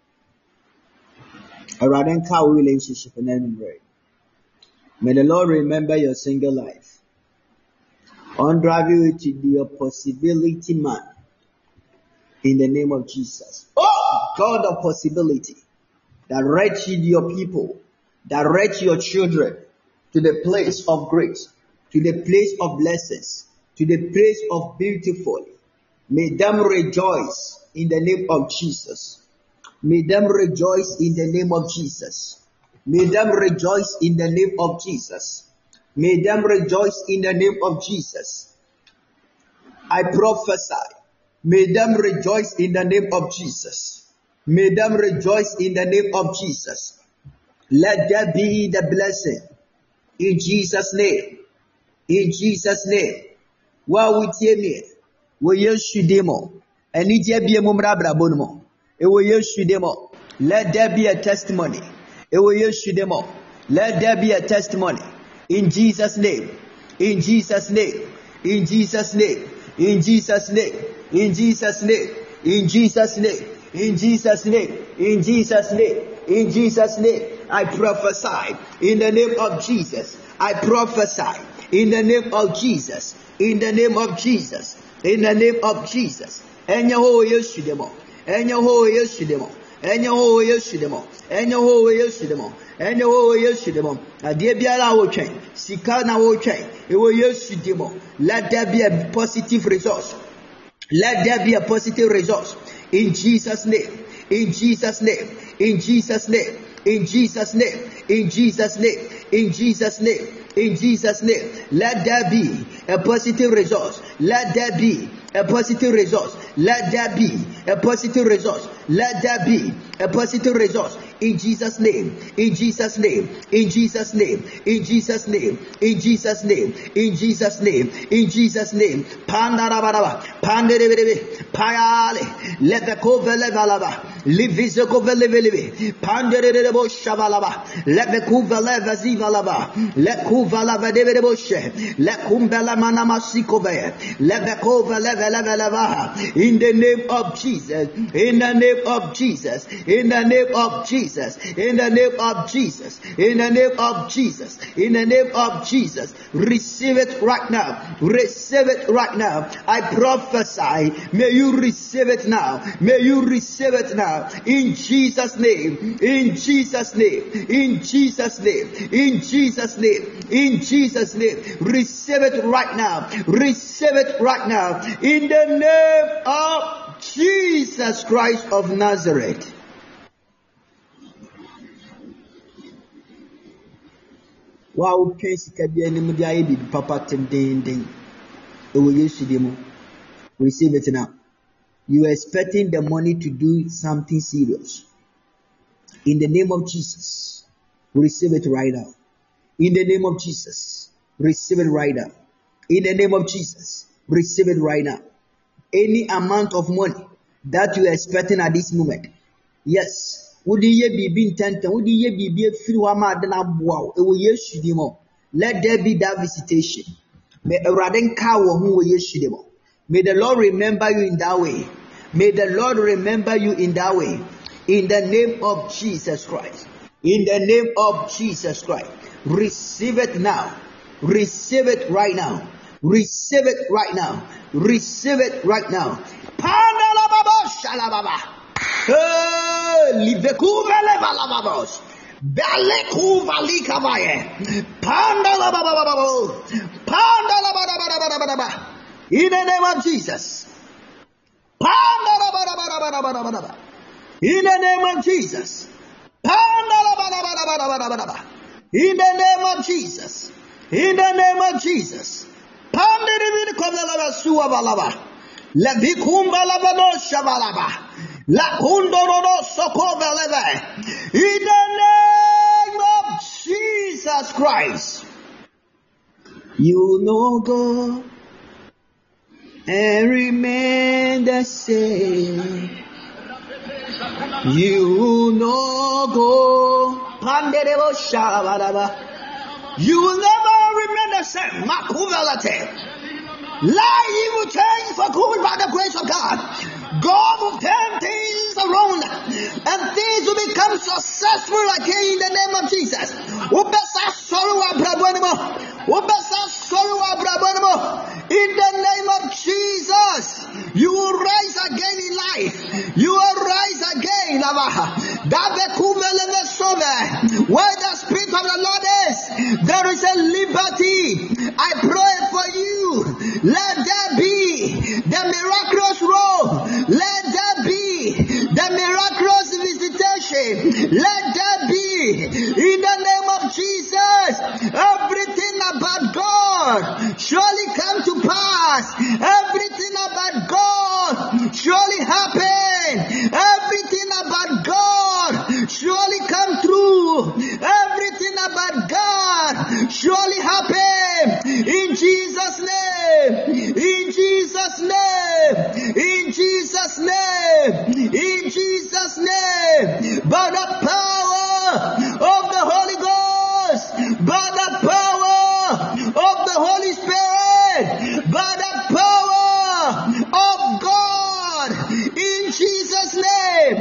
a radical relationship and anyway, may the Lord remember your single life. On drive you to be a possibility man in the name of Jesus. Oh, God of possibility, direct your people, direct your children to the place of grace, to the place of blessings, to the place of beautiful. May them rejoice in the name of Jesus. May them rejoice in the name of Jesus. May them rejoice in the name of Jesus. May them rejoice in the name of Jesus. I prophesy. May them rejoice in the name of Jesus. May them rejoice in the name of Jesus. Let there be the blessing. In Jesus' name. In Jesus' name. Wa wutie me. Wo Yesu demo. Eni je bie mumra brabo no. E wo Yesu demo. Let there be a testimony. E wo Yesu demo. Let there be a testimony. In Jesus' name. In Jesus' name. In Jesus' name. In Jesus' name. In Jesus' name. In Jesus' name. In Jesus' name. In Jesus' name. In Jesus' name. I prophesy in the name of Jesus. I prophesy in the name of Jesus. In the name of Jesus. In the name of Jesus. Enya ho Yesu demo. Enya ho Yesu demo. Enya ho Yesu demo. Enya ho Yesu demo. Enya ho Yesu demo. Ade biara wo twen. Sika na wo twen. E wo Yesu demo. Let there be a positive result. Let there be a positive result. In Jesus' name. In Jesus' name. In Jesus' name. In Jesus' name. In Jesus' name. In Jesus' name. In Jesus' name. Let there be a positive result. Let there be a positive result. Let there be a positive result. Let there be a positive result in Jesus' name, in Jesus' name, in Jesus' name, in Jesus' name, in Jesus' name, in Jesus' name, in Jesus' name. Pandarabaraba, panderebe, payale, lebekovelevalaba, livizokovelevelebe, panderebo shavalaba, lebekuvelevazivalaba, lekuvalavadeboshe, lekumbela manamasikove, lebekoveleveleva. In the name of Jesus, in the name of Jesus, in the name of Jesus, in the name of Jesus, in the name of Jesus, in the name of Jesus, receive it right now, receive it right now. I prophesy, may you receive it now, may you receive it now, in Jesus' name, in Jesus' name, in Jesus' name, in Jesus' name, in Jesus' name, receive it right now, receive it right now, in the name of Jesus Christ of Nazareth. Wow, case papa tending. Receive it now. You are expecting the money to do something serious. In the name of Jesus, receive it right now. In the name of Jesus, receive it right now. In the name of Jesus, receive it right now. Any amount of money that you are expecting at this moment, yes. Let there be that visitation. May the Lord remember you in that way. May the Lord remember you in that way. In the name of Jesus Christ. In the name of Jesus Christ. Receive it now. Receive it right now. Receive it right now. Receive it right now. Livekuva levalababos. Balekuva likavaye. Pandala babababo. Pandala babababo. In the name of Jesus. Pandala babababo. In the name of Jesus. Pandala babababo. In the name of Jesus. In the name of Jesus. Pandiri komelaba suavalaba. Lebikumba labano shavalaba. La kundoro sokoveleve. In the name of Jesus Christ. You know God and remain the same. You know God. Panderebo shavalaba. You will never remain the same. Makuvelate. Life will change for good by the grace of God. God will turn things around and things will become successful again in the name of Jesus. In the name of Jesus, you will rise again in life. You will rise again. Where the Spirit of the Lord is, there is a liberty. I pray for you. Let there be the miraculous robe. Let there be the miraculous visitation. Let there be, in the name of Jesus, everything about God surely come to pass. Everything about God surely happen. Everything about God surely come true. Everything about God surely happen. In Jesus' name. In Jesus' name. In Jesus' name. In Jesus' name. By the power of the Holy Ghost. By the power of the Holy Spirit. By the power of God. In Jesus' name.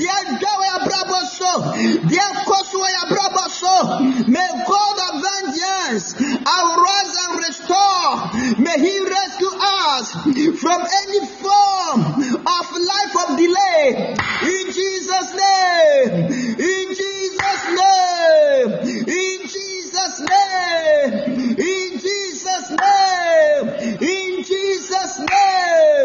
May God of vengeance arise and restore. May He rescue us from any form of life of delay. In Jesus' name. In Jesus' name. In Jesus' name. In Jesus' name. In Jesus' name.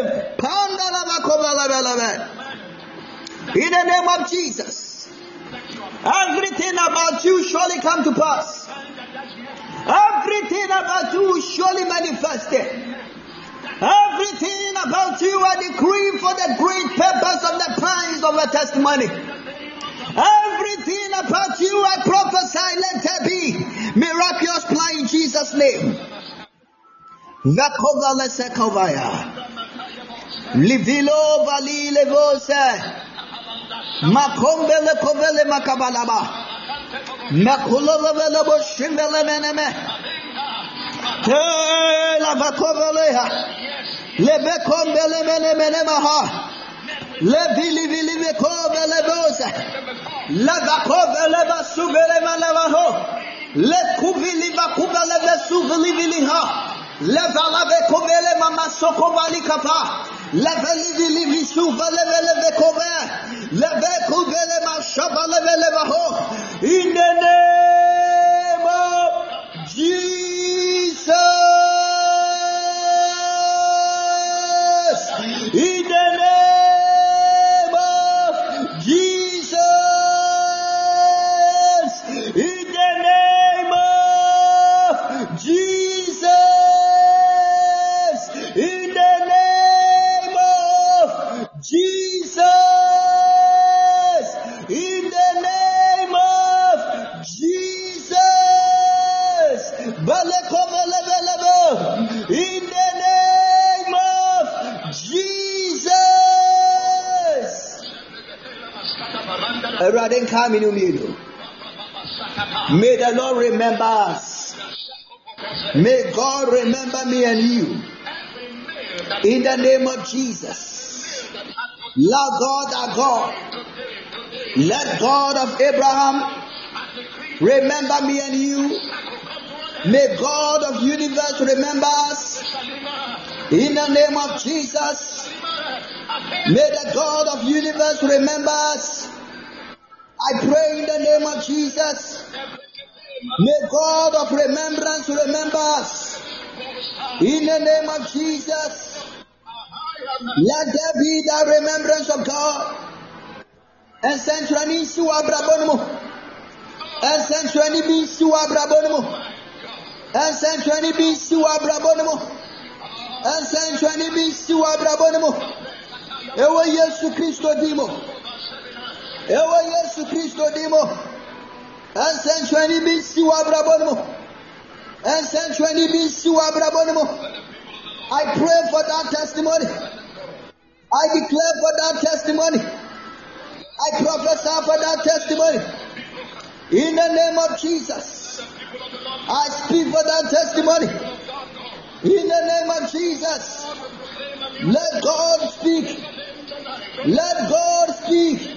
In the name of Jesus. Everything about you surely come to pass. Everything about you surely manifested. Everything about you I decree for the great purpose of the plans of a testimony. Everything about you I prophesy, let there be miraculous plan in Jesus' name. Vakova lesekovaya. Livilo vali levose. Makombele kovele makabalaba. Makulovele boshimele meneme. Te la vakoveleha. Lebekombele meneme maha. Levili vili vekovele bose. La vakovele vasuvele manavaho. Le kuvili vakuvele vesuvili viliha. Levala vekovele mama sokovali kapa. Leveli vili visuvele vele vekove. Levekuvele mashabale vele vaho. In the name of Jesus. In the name of Jesus. In the name of Jesus. In the name of Jesus. In the name of Jesus. Balekovelebelebo. In the name of Jesus. Erade come in umilo. May the Lord remember us. May God remember me and you. In the name of Jesus. Lord God, our God. Let God of Abraham remember me and you. May God of universe remember us. In the name of Jesus. May the God of universe remember us. I pray in the name of Jesus. May God of remembrance remember us. In the name of Jesus. Let there be the remembrance of God. And centrani su abrabonmo. And centrani bi su abrabonmo. And centrani bi su abrabonmo. And centrani bi su abrabonmo. Ewa Yesu Christo dimo. Ewa Yesu Christo dimo. And centrani bi su abrabonmo. And centrani bi su abrabonmo. I pray for that testimony. I declare for that testimony. I prophesy for that testimony. In the name of Jesus. I speak for that testimony. In the name of Jesus. Let God speak. Let God speak.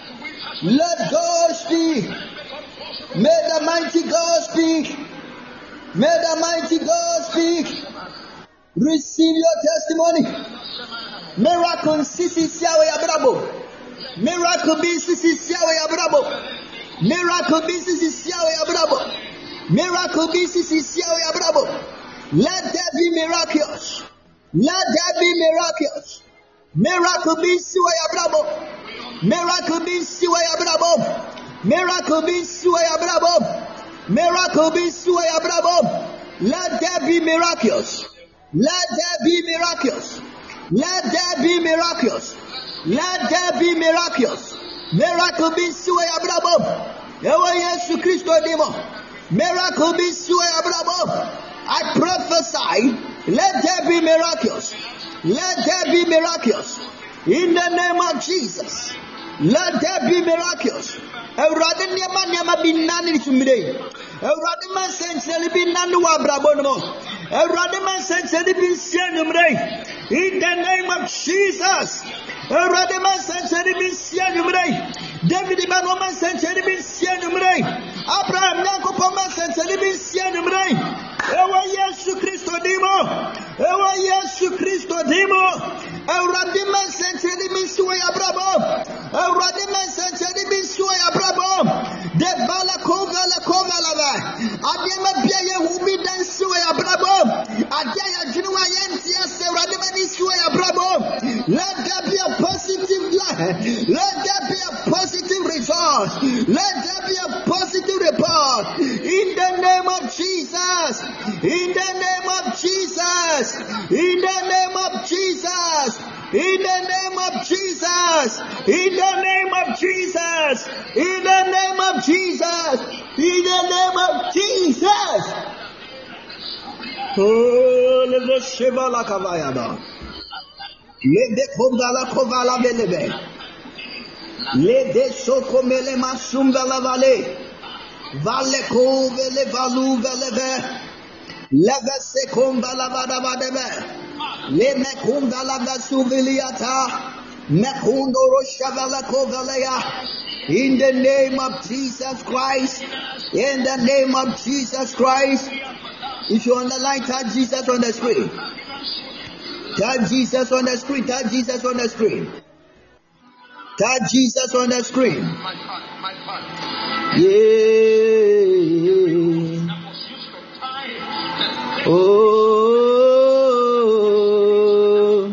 Let God speak. May the mighty God speak. May the mighty God speak. Receive your testimony. Miracle sisi siawe abrabo. Miracle be sisi siawe abrabo. Miracle be sisi siawe abrabo. Miracle be sisi siawe abrabo. Let there be miracles. Let there be miracles. Miracle be siawe abrabo. Miracle be siawe abrabo. Miracle be siawe abrabo. Miracle be siawe abrabo. Let there be miracles. Let there be miracles. Let there be miracles. Let there be miracles. Miracle be suwe abrabo. Ewa Yesu Christo demo. Miracle be suwe abrabo. I prophesy. Let there be miracles. Let there be miracles. In the name of Jesus. Let there be miracles. Ewurade niema niema bi nani tumire. Ewurade man sentele bi nani wa abrabo no. Ewurade man sentele bi sianumre. In the name of Jesus. Ewurade man sentele bi sianumre. David man man sentele bi sianumre. Abraham Yankopon man sentele bi sianumre. Ewa Yesu Christo dimo. Ewa Yesu Christo dimo. Ewurade man sentele bi suwe abrabo. Ewurade man sentele bi suwe abrabo. De bala kova la kova lava. Adiema bia ye hubi dan suwe abrabo. Adia ya junuwa yenti ya se ewurade man suwe abrabo. Let there be a positive life. Let there be a positive result. Let name of Jesus. Oh, le sheba la kavayaba. Le de kovala kovala belebe. Le de soko mele masumba la vale. Vale ko vele valu velebe. Leve se komba la vada vadebe. Le me komba la vasuviliata. Me kundo roshavala kovalea. In the name of Jesus Christ. In the name of Jesus Christ. If you're on the line, type Jesus on the screen. Type Jesus on the screen. Type Jesus on the screen. Type Jesus on the screen. Yeah. Oh.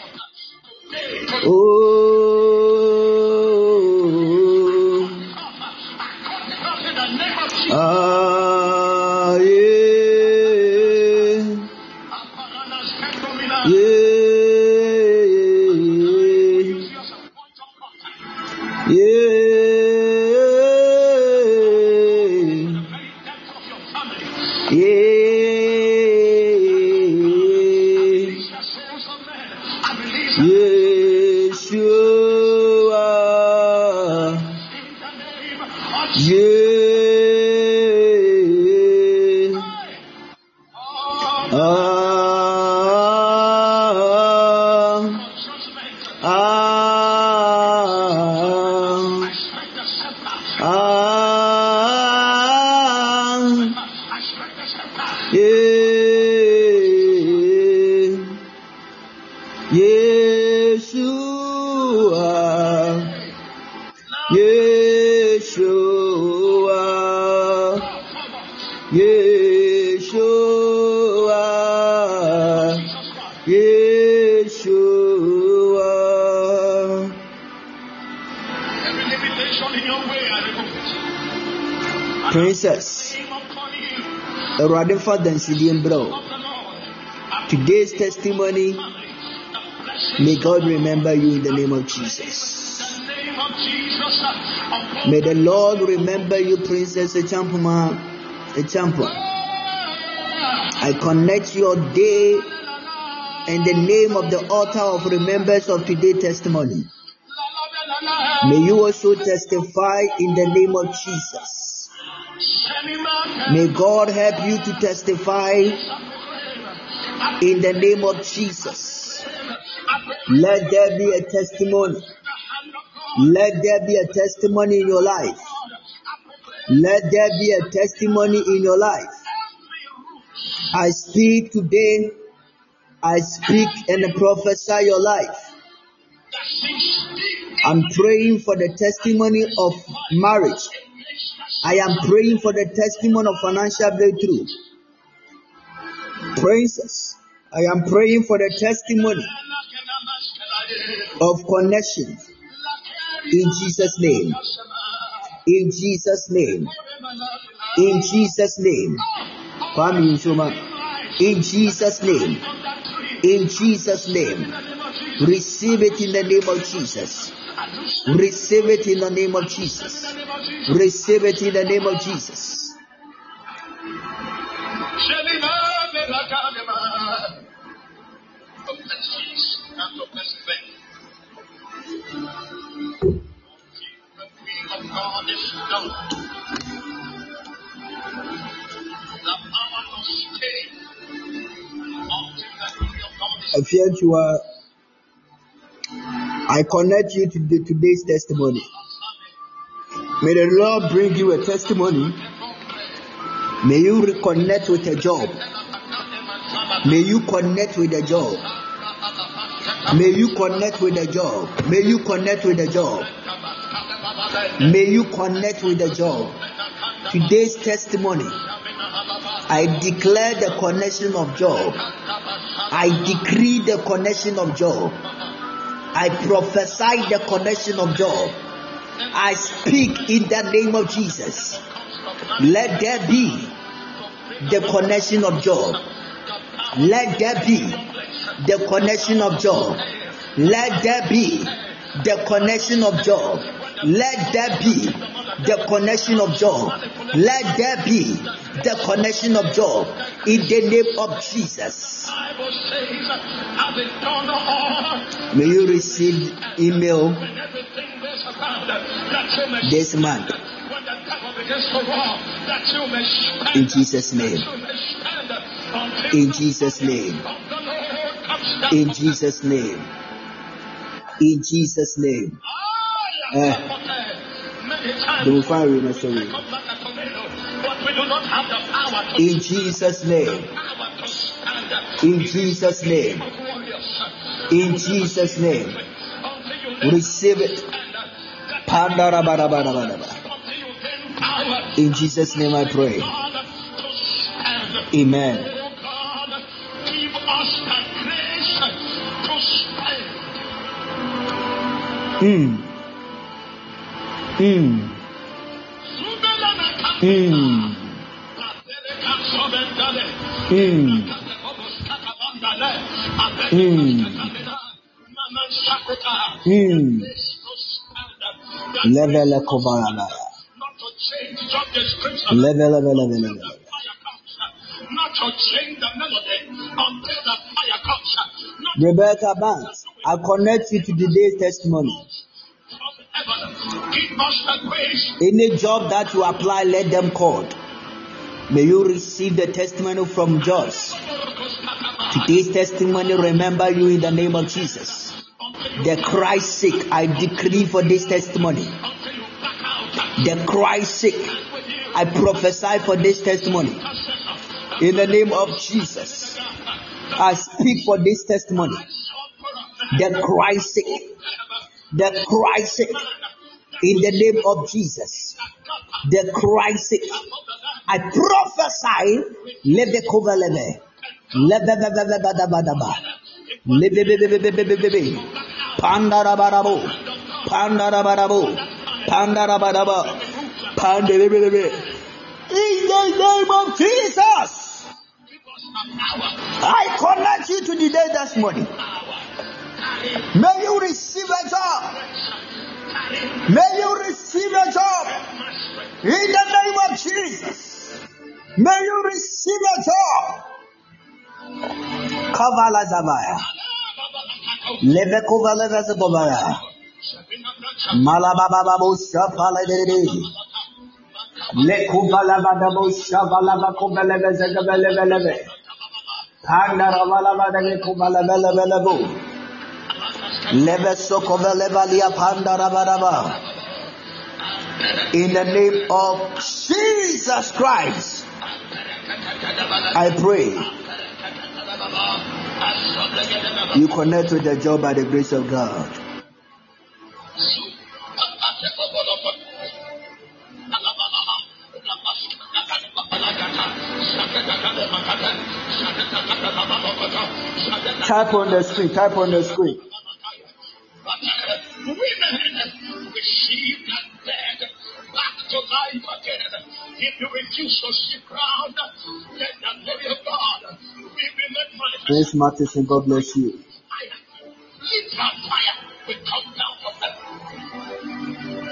Oh. Ah, yeah. Yeah. Princess, today's testimony, may God remember you in the name of Jesus. May the Lord remember you, Princess Echampuma Echampa. I connect your day in the name of the altar of remembrance of today's testimony. May you also testify in the name of Jesus. May God help you to testify in the name of Jesus. Let there be a testimony. Let there be a testimony in your life. Let there be a testimony in your life. I speak today. I speak and prophesy your life. I'm praying for the testimony of marriage. I am praying for the testimony of financial breakthrough. Princess, I am praying for the testimony of connection. In Jesus' name. In Jesus' name. In Jesus' name. In Jesus' name. In Jesus' name. Receive it in the name of Jesus. Receive it in the name of Jesus. Receive it in the name of Jesus. If you are, I connect you to the, today's testimony. May the Lord bring you a testimony. May you reconnect with a job. May you connect with a job. May you connect with a job. May you connect with a job. May you connect with a job. Today's testimony, I declare the connection of job. I decree the connection of job. I prophesy the connection of job. I speak in the name of Jesus. Let there be the connection of job. Let there be the connection of job. Let there be the connection of job. Let there be the connection of job. Let there be the connection of job in the name of Jesus. May you receive email this month in Jesus' name. In Jesus' name. In Jesus' name. In Jesus' name. Uh, the fire in sorry. In Jesus' name. In Jesus' name. In Jesus' name. Receive it. In Jesus' name I pray. Amen. Mm. Mm. Mm. Mm. Mm. Mm. Level Kovarana. Level, level, level, level. Not to change the melody until the fire comes. Rebecca Banks, I connect you to today's testimony. Any job that you apply, let them call. May you receive the testimony from Joyce. Today's testimony remember you in the name of Jesus. The Christ's sake, I decree for this testimony. The Christ's sake, I prophesy for this testimony. In the name of Jesus, I speak for this testimony. The Christ's sake, the Christ's sake, in the name of Jesus, the Christ's sake, I prophesy. Let the cover leve, leve, pandarabarabo, pandarabarabo, pandarabarabo, pandarabarabo. In the name of Jesus, I connect you to the day this morning. May you receive a job. May you receive a job. In the name of Jesus. May you receive a job. Kavala Zavaya. Leve Kovala Zabaya. Malabababu Shapala. Le Kuvala Badabo Shavala Kovala Zagabaleve. Pandaravala Badale Kuvala Belabu. Leve Sokovele Valia Pandarabaraba. In the name of Jesus Christ, I pray. You connect with the job by the grace of God. Type on the screen, type on the screen. Women receive that dead back to life again. If you refuse to sit ground, then the glory of God will be made manifest. Grace Matheson, God bless you. Literal fire will come down from heaven.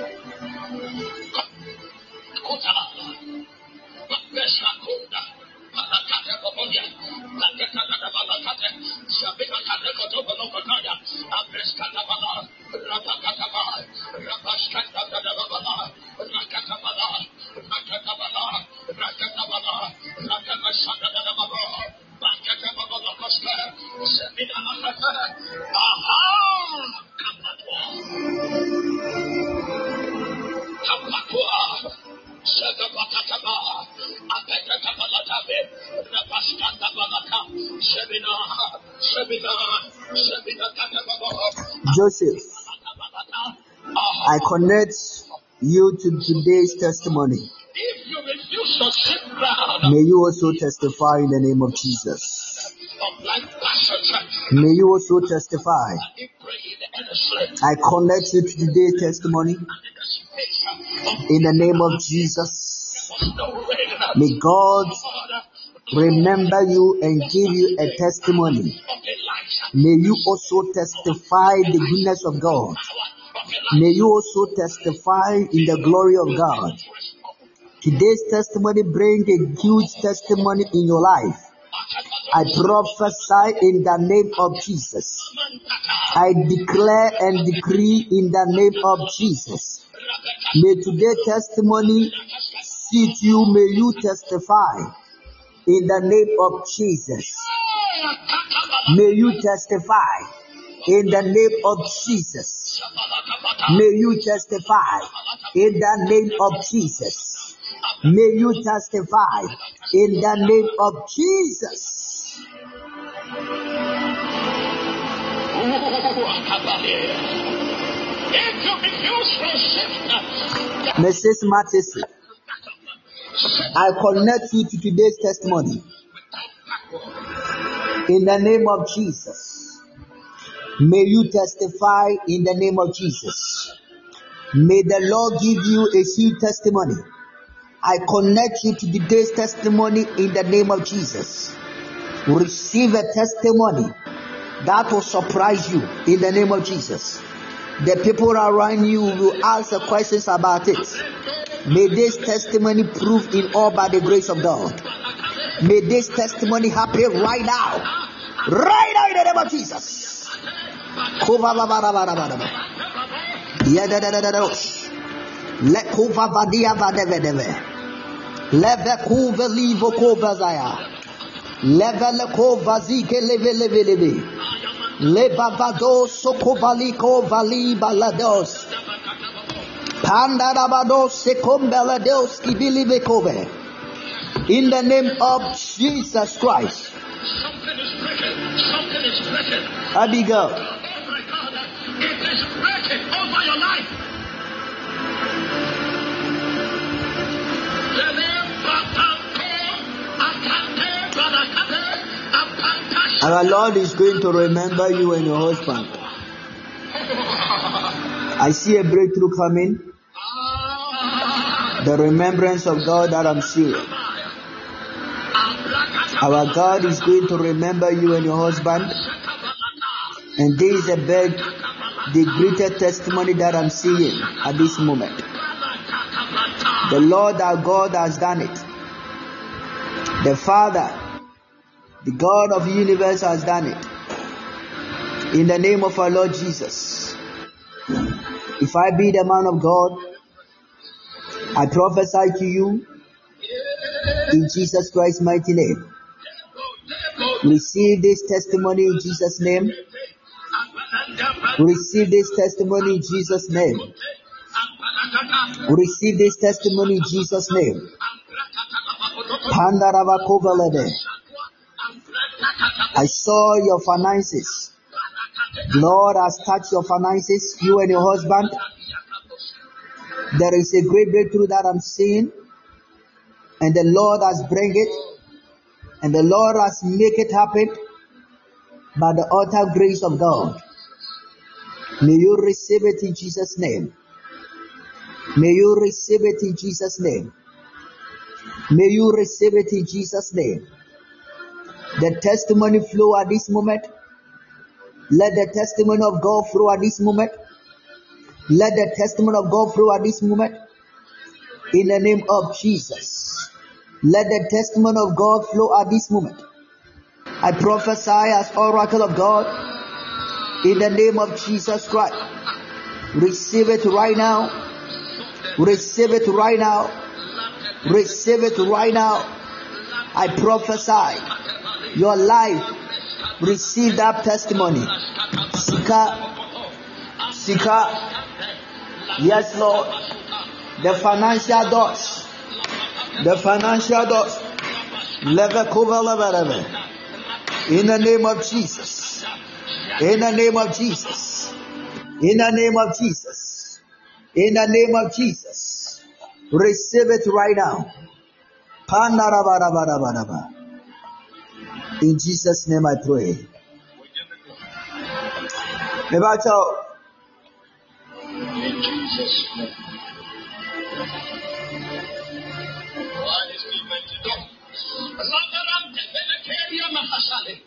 Joseph, I connect you to today's testimony. May you also testify in the name of Jesus. May you also testify. I connect you to today's testimony in the name of Jesus. May God remember you and give you a testimony. May you also testify the goodness of God May you also testify in the glory of God. Today's testimony brings a huge testimony in your life. I prophesy in the name of Jesus. I declare and decree in the name of Jesus. May today's testimony seat you. May you testify in the name of Jesus. May you testify in the name of Jesus. May you testify in the name of Jesus. May you testify in the name of Jesus. Missus Mattison, I connect you to today's testimony in the name of Jesus. May you testify in the name of Jesus. May the Lord give you a huge testimony. I connect you to today's testimony in the name of Jesus. Receive a testimony that will surprise you in the name of Jesus. The people around you will ask questions about it. May this testimony prove in all by the grace of God. May this testimony happen right now. Right now in the name of Jesus. Let Kova Vadia Vadeve. Leve Kova Livo Kova Zaya. Leve Kova Zike Leve Leve Leve. Levavado Sokovaliko Vali Balados. Pandarabados Sekombelados Kibilivekove. In the name of Jesus Christ. Something is breaking. Something is breaking. Abigail. Oh my God. It is breaking over your life. Our Lord is going to remember you and your husband. I see a breakthrough coming. The remembrance of God that I'm seeing. Our God is going to remember you and your husband. And this is a big, the greatest testimony that I'm seeing at this moment. The Lord our God has done it. The Father, the God of the universe has done it. In the name of our Lord Jesus. If I be the man of God, I prophesy to you in Jesus Christ's mighty name. Receive this testimony in Jesus' name. Receive this testimony in Jesus' name. Receive this testimony in Jesus' name. I saw your finances. Lord has touched your finances, you and your husband. There is a great breakthrough that I'm seeing. And the Lord has bring it. And the Lord has make it happen by the utter grace of God. May you receive it in Jesus' name. May you receive it in Jesus' name. May you receive it in Jesus' name. The testimony flow at this moment. Let the testimony of God flow at this moment. Let the testimony of God flow at this moment. In the name of Jesus. Let the testimony of God flow at this moment. I prophesy as oracle of God. In the name of Jesus Christ. Receive it right now. Receive it right now. Receive it right now. I prophesy your life. Receive that testimony. Sika. Sika. Yes, Lord. The financial doors. The financial doors. In the name of Jesus. In the name of Jesus. In the name of Jesus. In the name of Jesus. Receive it right now. In Jesus' name I pray. In Jesus' name.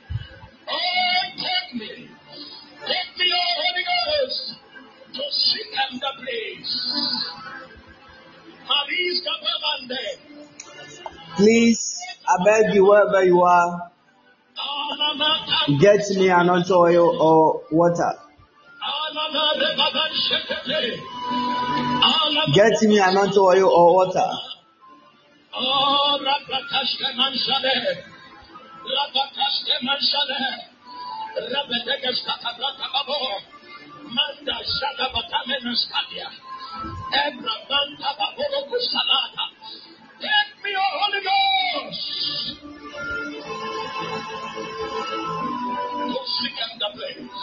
Oh, take me. Take me, oh Holy Ghost, to seek Please, I beg you, wherever you are, get me anointing oil or water. Get me anointing oil or water. Take me, O Holy Ghost. Go seek in the place.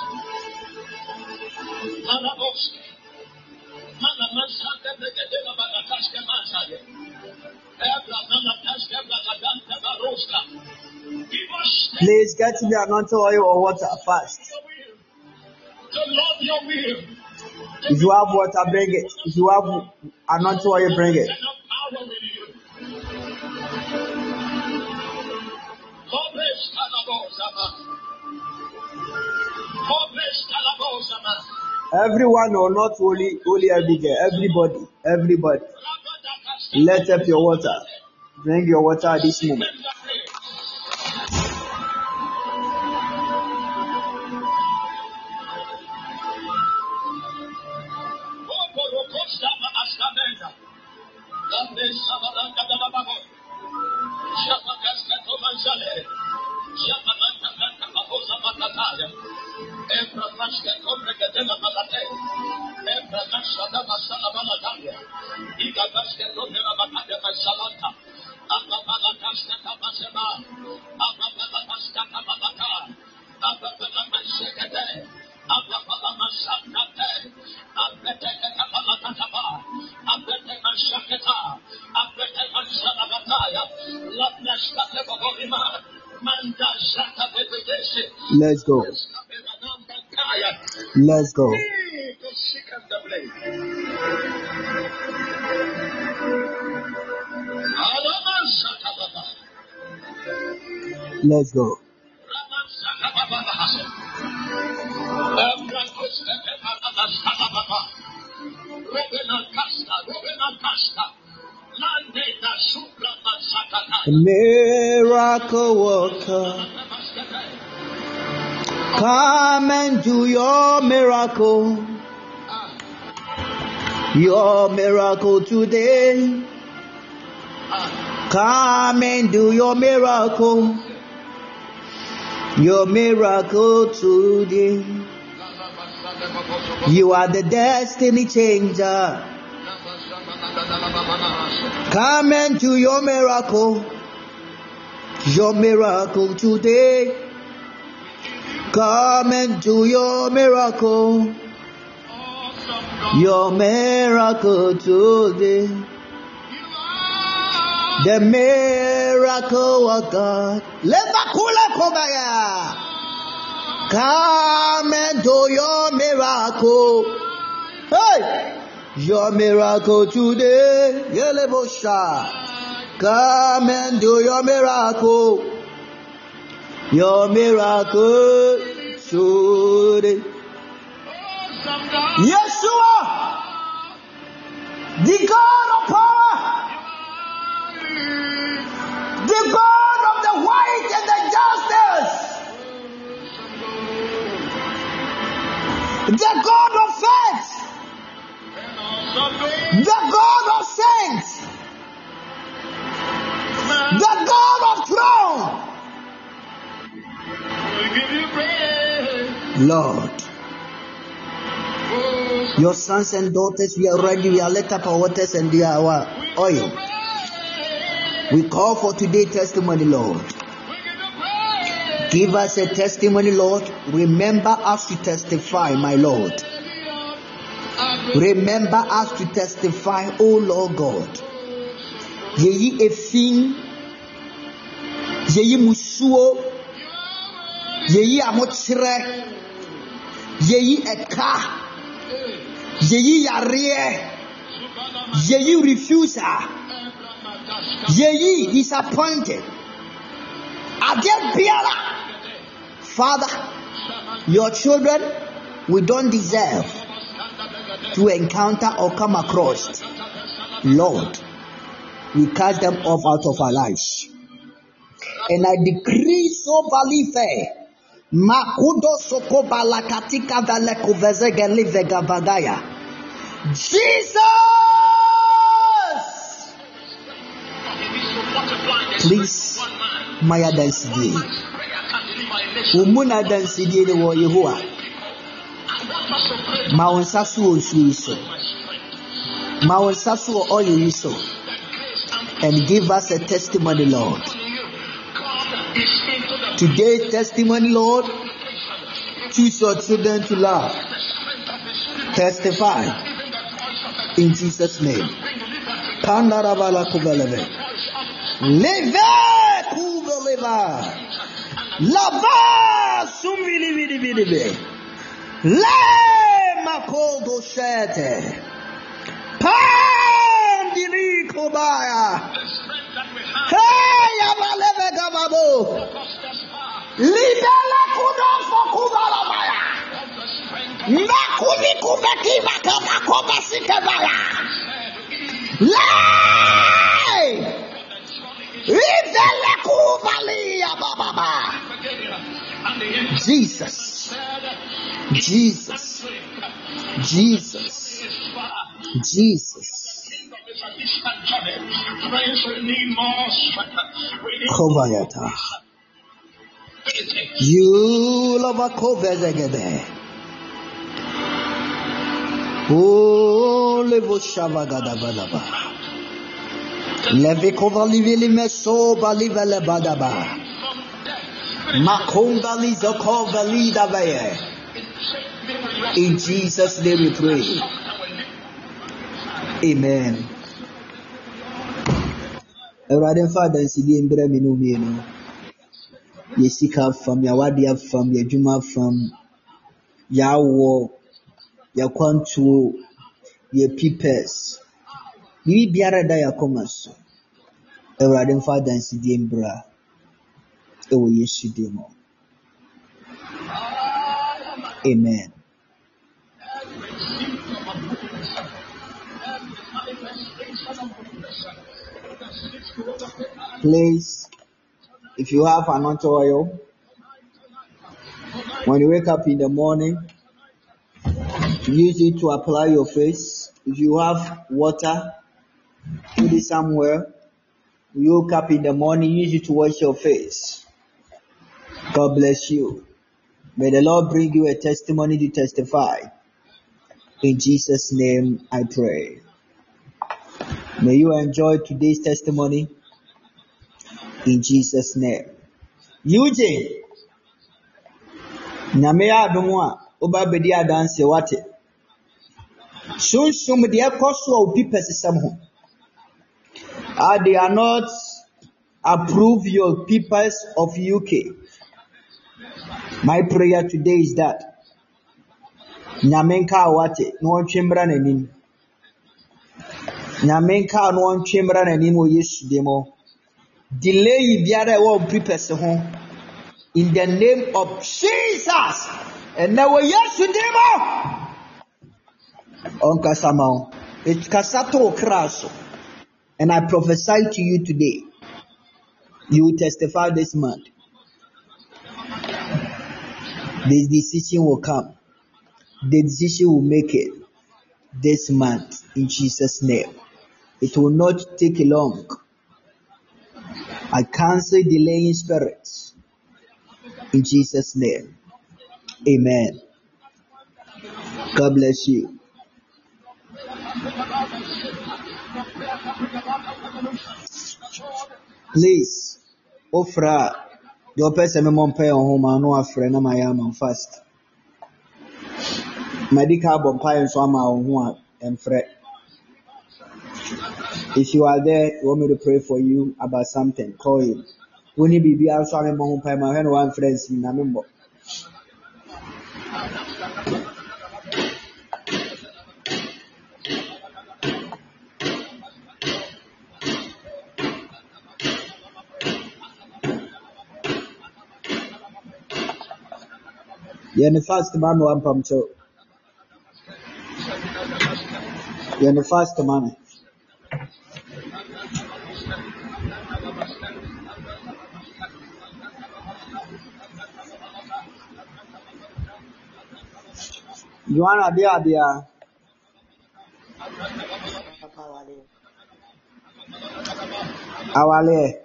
Manaboski. Manamansante Begedela Bagataska Mansaya. Ebra Manataska Bagadanta Baroska. Please get me anointing oil or water fast. To love your will. If you have water, bring it. If you have anointing oil, bring it. Everyone or not only only Abigail, everybody, everybody. Let up your water. Bring your water at this moment. Let's go. Let's go. Let's go. Miracle worker, come and do your miracle, your miracle today. Come and do your miracle, your miracle today. You are the destiny changer. Come and do your miracle, your miracle today. Come and do your miracle, your miracle today. The miracle of God. Come and do your miracle. Hey! Your miracle today. Come and do your miracle. Your miracle today. Yeshua, the God of power, the God of the white and the justice, the God of faith, the God of saints, the God of throne. Lord, your sons and daughters, we are ready. We are let up our waters and we are our oil. We call for today testimony, Lord. Give us a testimony, Lord. Remember us to testify, my Lord. Remember us to testify, oh Lord God. Yeyi efin, yeyi musuo, yeyi amochire, yeyi eka, yeyi yare, yeyi refuser, yeyi disappointed. Again, Biala, Father, your children, we don't deserve to encounter or come across. Lord, We cast them off out of our lives. And I decree so balife. Makudo soko balakatika veleko vezege livega bagaya. Jesus! Please, Maya Dansidi. Umuna Dansidi the war Yehua. Mawan Sasu Suiso. Mawan Sasu or Oyiso. And give us a testimony, Lord. Today's testimony, Lord, choose your children to love. Testify in Jesus' name. Pandarabala kuveleve. Leve kuveleva. Lava sumili vidi vidi vidi. Le makodo shete. Pandili kobaya. Hey, abaleve gababo. Libela kudo fokubala maya. Makuni kubeki makaba koba sikabaya. Lay. Libela kubali ababa. Jesus. Jesus. Jesus. Jesus. Kobayata. You love a covezegede. Oh, levo shavagadabalaba. Levikova livili meso balivele badaba. Makonga lizokova lidavaye. In Jesus' name we pray. Amen. Erade Father nsidi mbere minu mienu. Yesika fam ya wadia fam ya juma fam ya wo ya kwantu ya pipes. Ni biara da ya komaso. Erade Father nsidi mbra. Ewo Yesu demo. Amen. Please, if you have anointing oil, when you wake up in the morning, use it to apply your face. If you have water, put it somewhere. You wake up in the morning, use it to wash your face. God bless you. May the Lord bring you a testimony to testify. In Jesus' name I pray. May you enjoy today's testimony. In Jesus' name. Eugene. Namea Dumwa. Oba bedia dance wate. Soon some the apostle of people some. Ah, they are not approve your peoples of U K. My prayer today is that Nyamenka wate no chembra nanim. Nyamenka no chembra nanim o Yesu demo. Delay biara wo prepare ho in the name of Jesus. And now Yesu demo. On kasama it kasato kraso. And I prophesy to you today. You will testify this month. This decision will come. The decision will make it this month in Jesus' name. It will not take long. I cancel delaying spirits in Jesus' name. Amen. God bless you. Please, Ofra. Your person me mon pay on home no afre na my am fast. Medical bonfire nso ama ho emfre. If you are there, you want me to pray for you about something, call him. When you be also am mo pay my when one friends na member. You're the first man one pump so. You're the first man. Joanna, dia dia. Awale.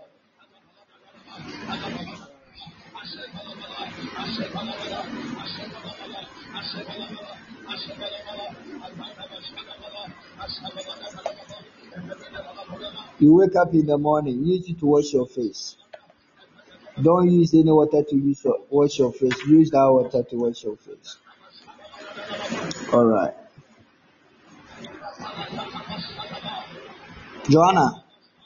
You wake up in the morning, use it to wash your face. Don't use any water to use your, wash your face. Use that water to wash your face. All right. Joanna,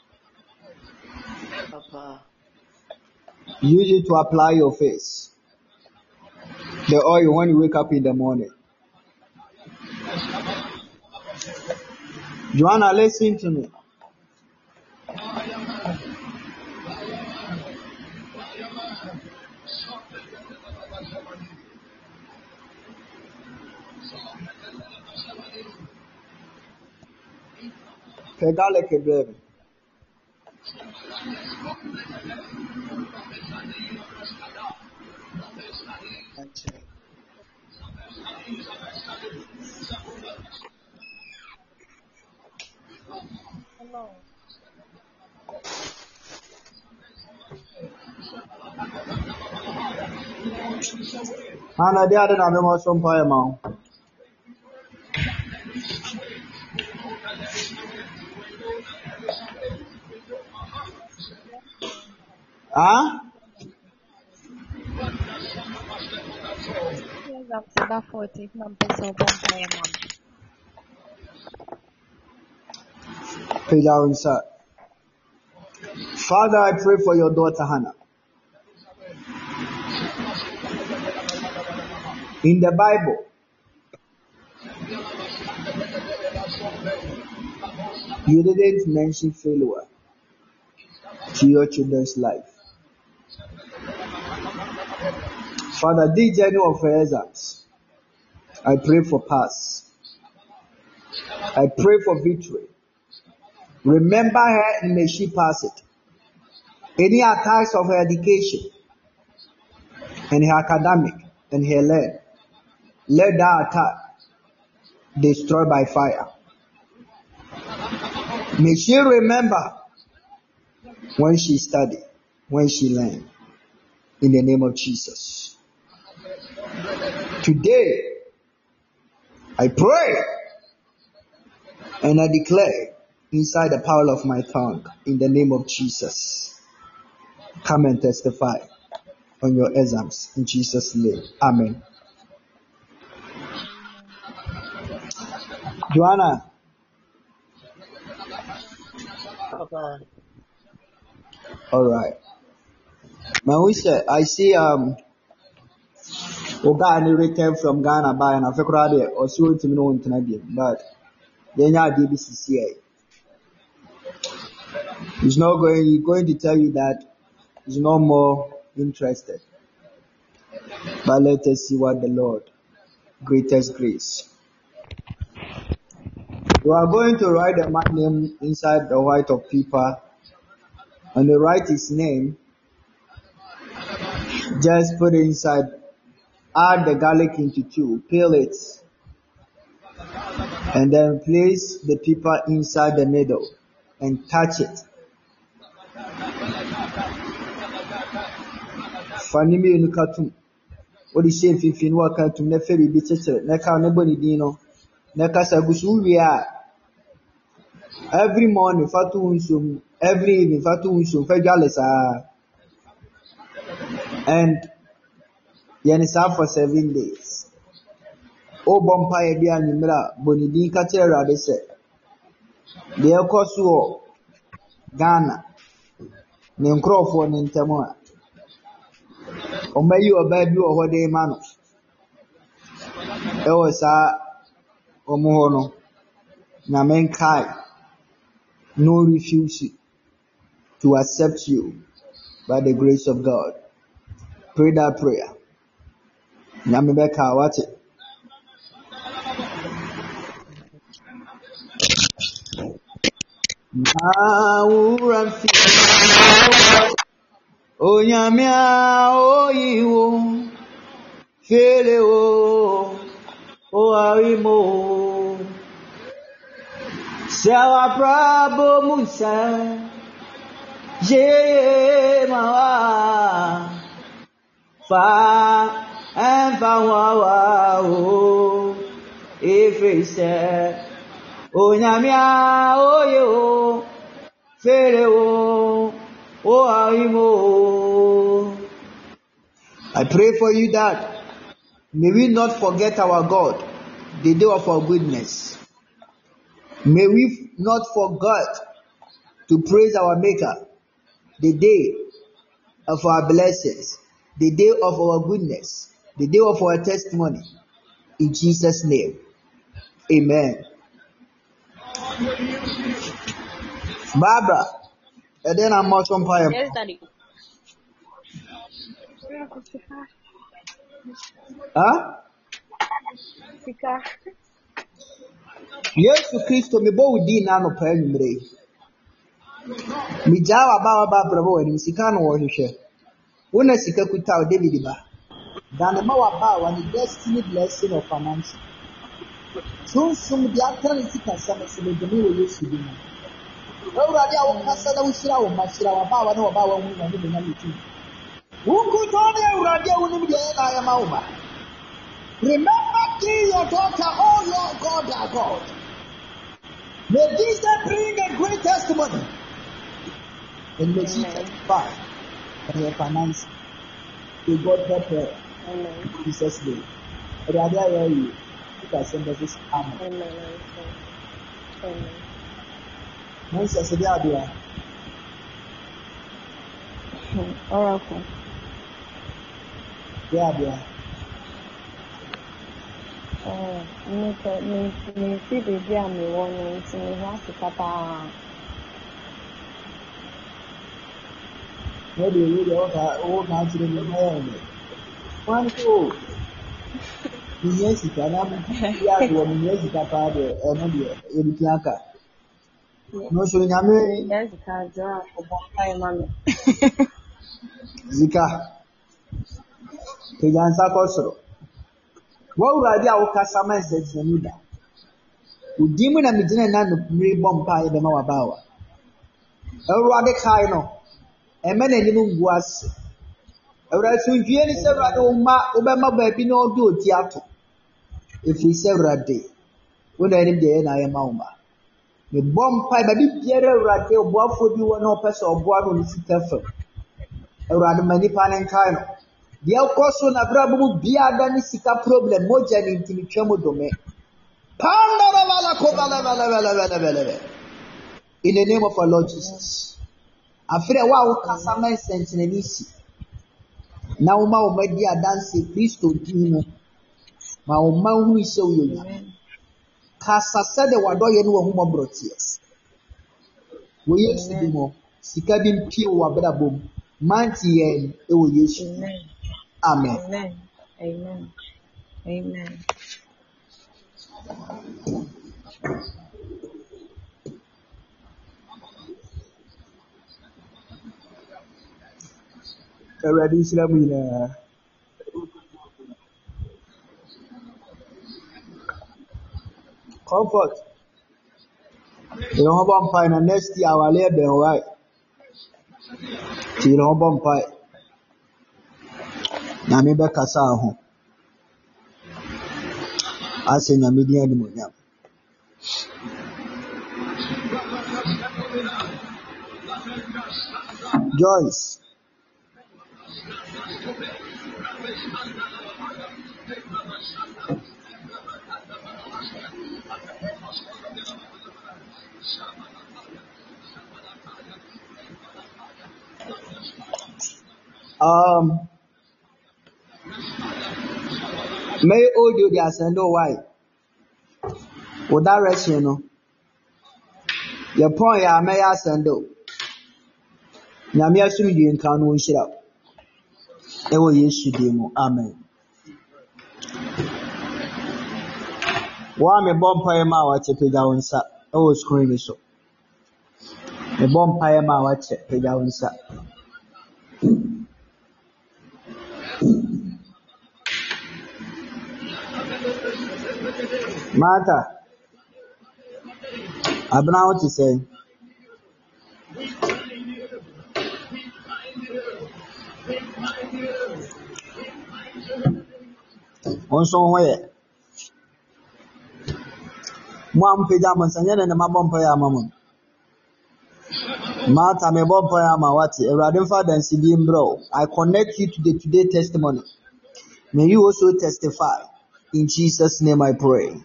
Papa. use it to apply your face. The oil when you wake up in the morning. Joanna, listen to me. Pedale que baby. Hello. Hana dia ada nama masuk pai mau. Ah? Yes, I'm to that forty. I'm so vampire mom. Pedal inside. Father, I pray for your daughter Hannah. In the Bible, you didn't mention failure to your children's life. Father, this journey of her exams, I pray for pass. I pray for victory. Remember her and may she pass it. Any attacks of her education and her academic and her learn, let that attack destroy by fire. May she remember when she studied, when she learned. In the name of Jesus. Today, I pray and I declare inside the power of my tongue, in the name of Jesus, come and testify on your exams in Jesus' name. Amen. Joanna. Papa. All right. Mawisha, I see um Oga returned from Ghana by an African or so to me on Canadian, but then you D B C C A. He's not going he's going to tell you that he's no more interested. But let us see what the Lord, greatest grace. You are going to write the man name inside the white of paper. And you write his name. Just put it inside. Add the garlic into two. Peel it. And then place the paper inside the middle. And touch it. Fanimi unukatum. What is saying if you work out to never be better? Neka nobody dino. Neka sagusu wia. Every morning, fatu unsum. Every evening, fatu unsum. Fegalesa. And yenisa for seven days. O bumpire dia nimra bonidin katera de se. De ekosu Ghana. Ne nkrofo ne ntemo a. Omayi oba bi o hode ma no. E wo sa omo ho no. Na menkai. No refuse to accept you by the grace of God. Pray that prayer. Nyamibeka watch it. Awuram fi Onyamia oyiwo fele o o arimo Sawa Prabhu Musa Je mawa fa and fa wa wa o efese Onyamia oyiwo fele o o arimo. I pray for you that may we not forget our God, the day of our goodness. May we not forget to praise our Maker, the day of our blessings, the day of our goodness, the day of our testimony. In Jesus' name, amen. Barbara, and then I'm much on fire. Yes, Daddy. Huh? Sika. Yesu Kristo me bo udi na no pa nwumre. Mi jawa ba wa ba brabo wani sika no wo hwehwe. Wona sika kuta o David ba. Dan ma wa ba wa ni destiny blessing of finance. Sun sum di atra ni sika sama se de mi wo Yesu di. Ewurade a wo kasa na wo shira wo ma shira wa ba wa na wo ba wa hu na ni be na yitu. Wo ku to na ewurade a wo ni de na ya ma wo ba. Remember kill your daughter, oh Lord God our God. May this day bring a great testimony. And may she testify on her finances. May God help her. Amen. In Jesus' name. And I dare you. You can send us this amen. Amen. Amen. When she said, "Dear, Oracle. dear, dear." Oh, me me me see the dear me one me see me have to papa. Maybe you will have old man to the man. One go. Yes, you can have yeah, one yes, you can have another Erikiaka. No, so Yami Yes, can draw for one time, mommy. Zika. Pigansa Kosoro. What would I be our customers that you need? Would demon and the dinner and the bomb pie the Mawabawa. A rather kind a man and you was a rather really several ma Obama baby no do theatre. If he several day, when I am there and I am Mauma. The bomb pie, but if Pierre Rate or Bob for you no person or Bob on the careful. A rather many pan and kind. The Alcoso Nabrabu Biadani Sika problem, Mojan in Timichamo domain. In the name of our Lord Jesus. After a while, Casama sent in an easy. Now, my media dance, please to Dino. My man who is so young. Casa said the Wadoyan who brought tears. We used to be more. Sika bin pure Wabrabum. Manti and it will use you. Amen. Amen. Amen. Amen. Already Islamina. Comfort. You know about fine next year our labor right. You know about pie. Na me be kasa ho. Ase na me di animonyam. Joyce. Um May audio the ascendo why? With that rest, you know. Your point, ya may ascendo. Namia soon you encounter one shit up. It will yes, you demo. Amen. Why me bomb pie ma what you pay down, sir? Oh, screaming so. Me bomb pie ma watch Pegaunsa. Martha, I don't know what to say. On somewhere. Mom pajamas and then my bomb pie mamma. Martha, me bomb pie ma what a radin father and C D M bro. I connect you to the today testimony. May you also testify. In Jesus' name I pray.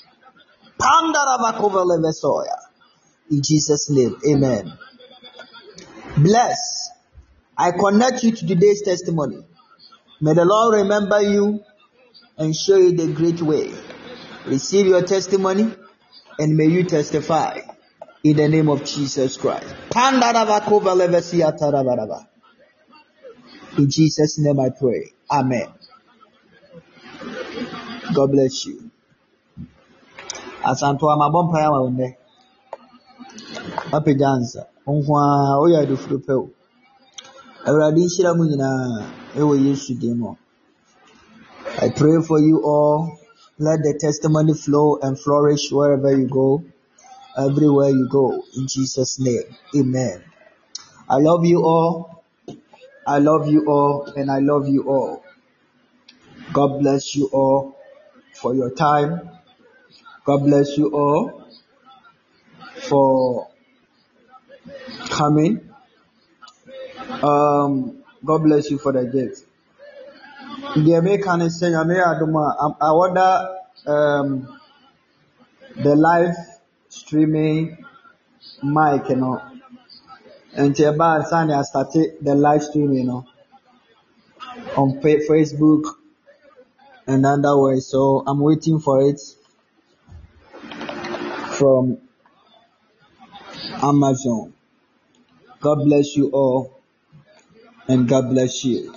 In Jesus' name, amen. Bless. I connect you to today's testimony. May the Lord remember you and show you the great way. Receive your testimony and may you testify in the name of Jesus Christ. In Jesus' name I pray. Amen. God bless you. Asanto amabompa ya wonde. Happy dance. Onkwa oya do frupe. Awurade nhyira mu nyina ewo Yesu demo. I pray for you all. Let the testimony flow and flourish wherever you go, everywhere you go, in Jesus' name. Amen. I love you all. I love you all and I love you all. God bless you all for your time. God bless you all for coming. Um, God bless you for the gift. The American is saying, I wonder um, the live streaming mic, you know, and I started the live streaming, you know, on Facebook and other ways. So I'm waiting for it from Amazon. God bless you all and God bless you.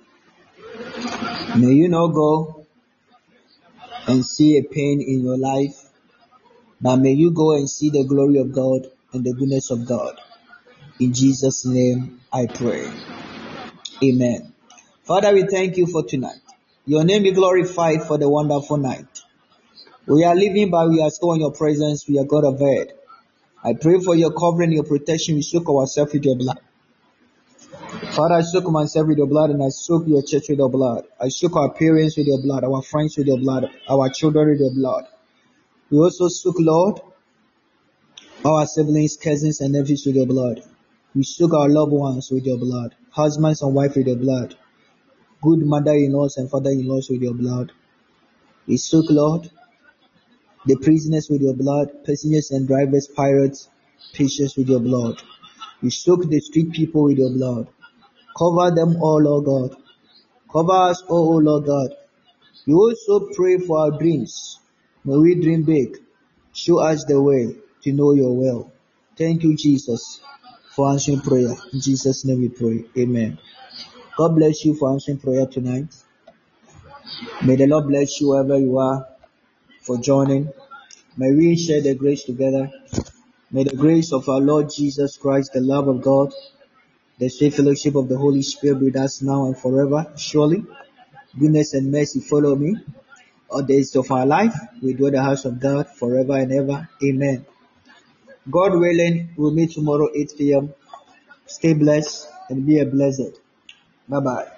May you not go and see a pain in your life, but may you go and see the glory of God and the goodness of God. In Jesus' name I pray. Amen. Father, we thank you for tonight. Your name be glorified for the wonderful night. We are living, but we are still in your presence. We are God of earth. I pray for your covering, your protection. We soak ourselves with your blood. Father, I soak myself with your blood and I soak your church with your blood. I soak our parents with your blood, our friends with your blood, our children with your blood. We also soak, Lord, our siblings, cousins, and nephews with your blood. We soak our loved ones with your blood, husbands and wives with your blood, good mother-in-laws and father-in-laws with your blood. We soak, Lord, the prisoners with your blood, passengers and drivers, pirates, patients with your blood. We soak the street people with your blood. Cover them all, Lord God. Cover us all, Lord God. We also pray for our dreams. May we dream big. Show us the way to know your will. Thank you, Jesus, for answering prayer. In Jesus' name we pray. Amen. God bless you for answering prayer tonight. May the Lord bless you wherever you are for joining. May we share the grace together. May the grace of our Lord Jesus Christ, the love of God, the sweet fellowship of the Holy Spirit be with us now and forever. Surely, goodness and mercy follow me all days of our life. We dwell in the house of God forever and ever. Amen. God willing, we'll meet tomorrow eight p.m. Stay blessed and be a blessed. Bye-bye.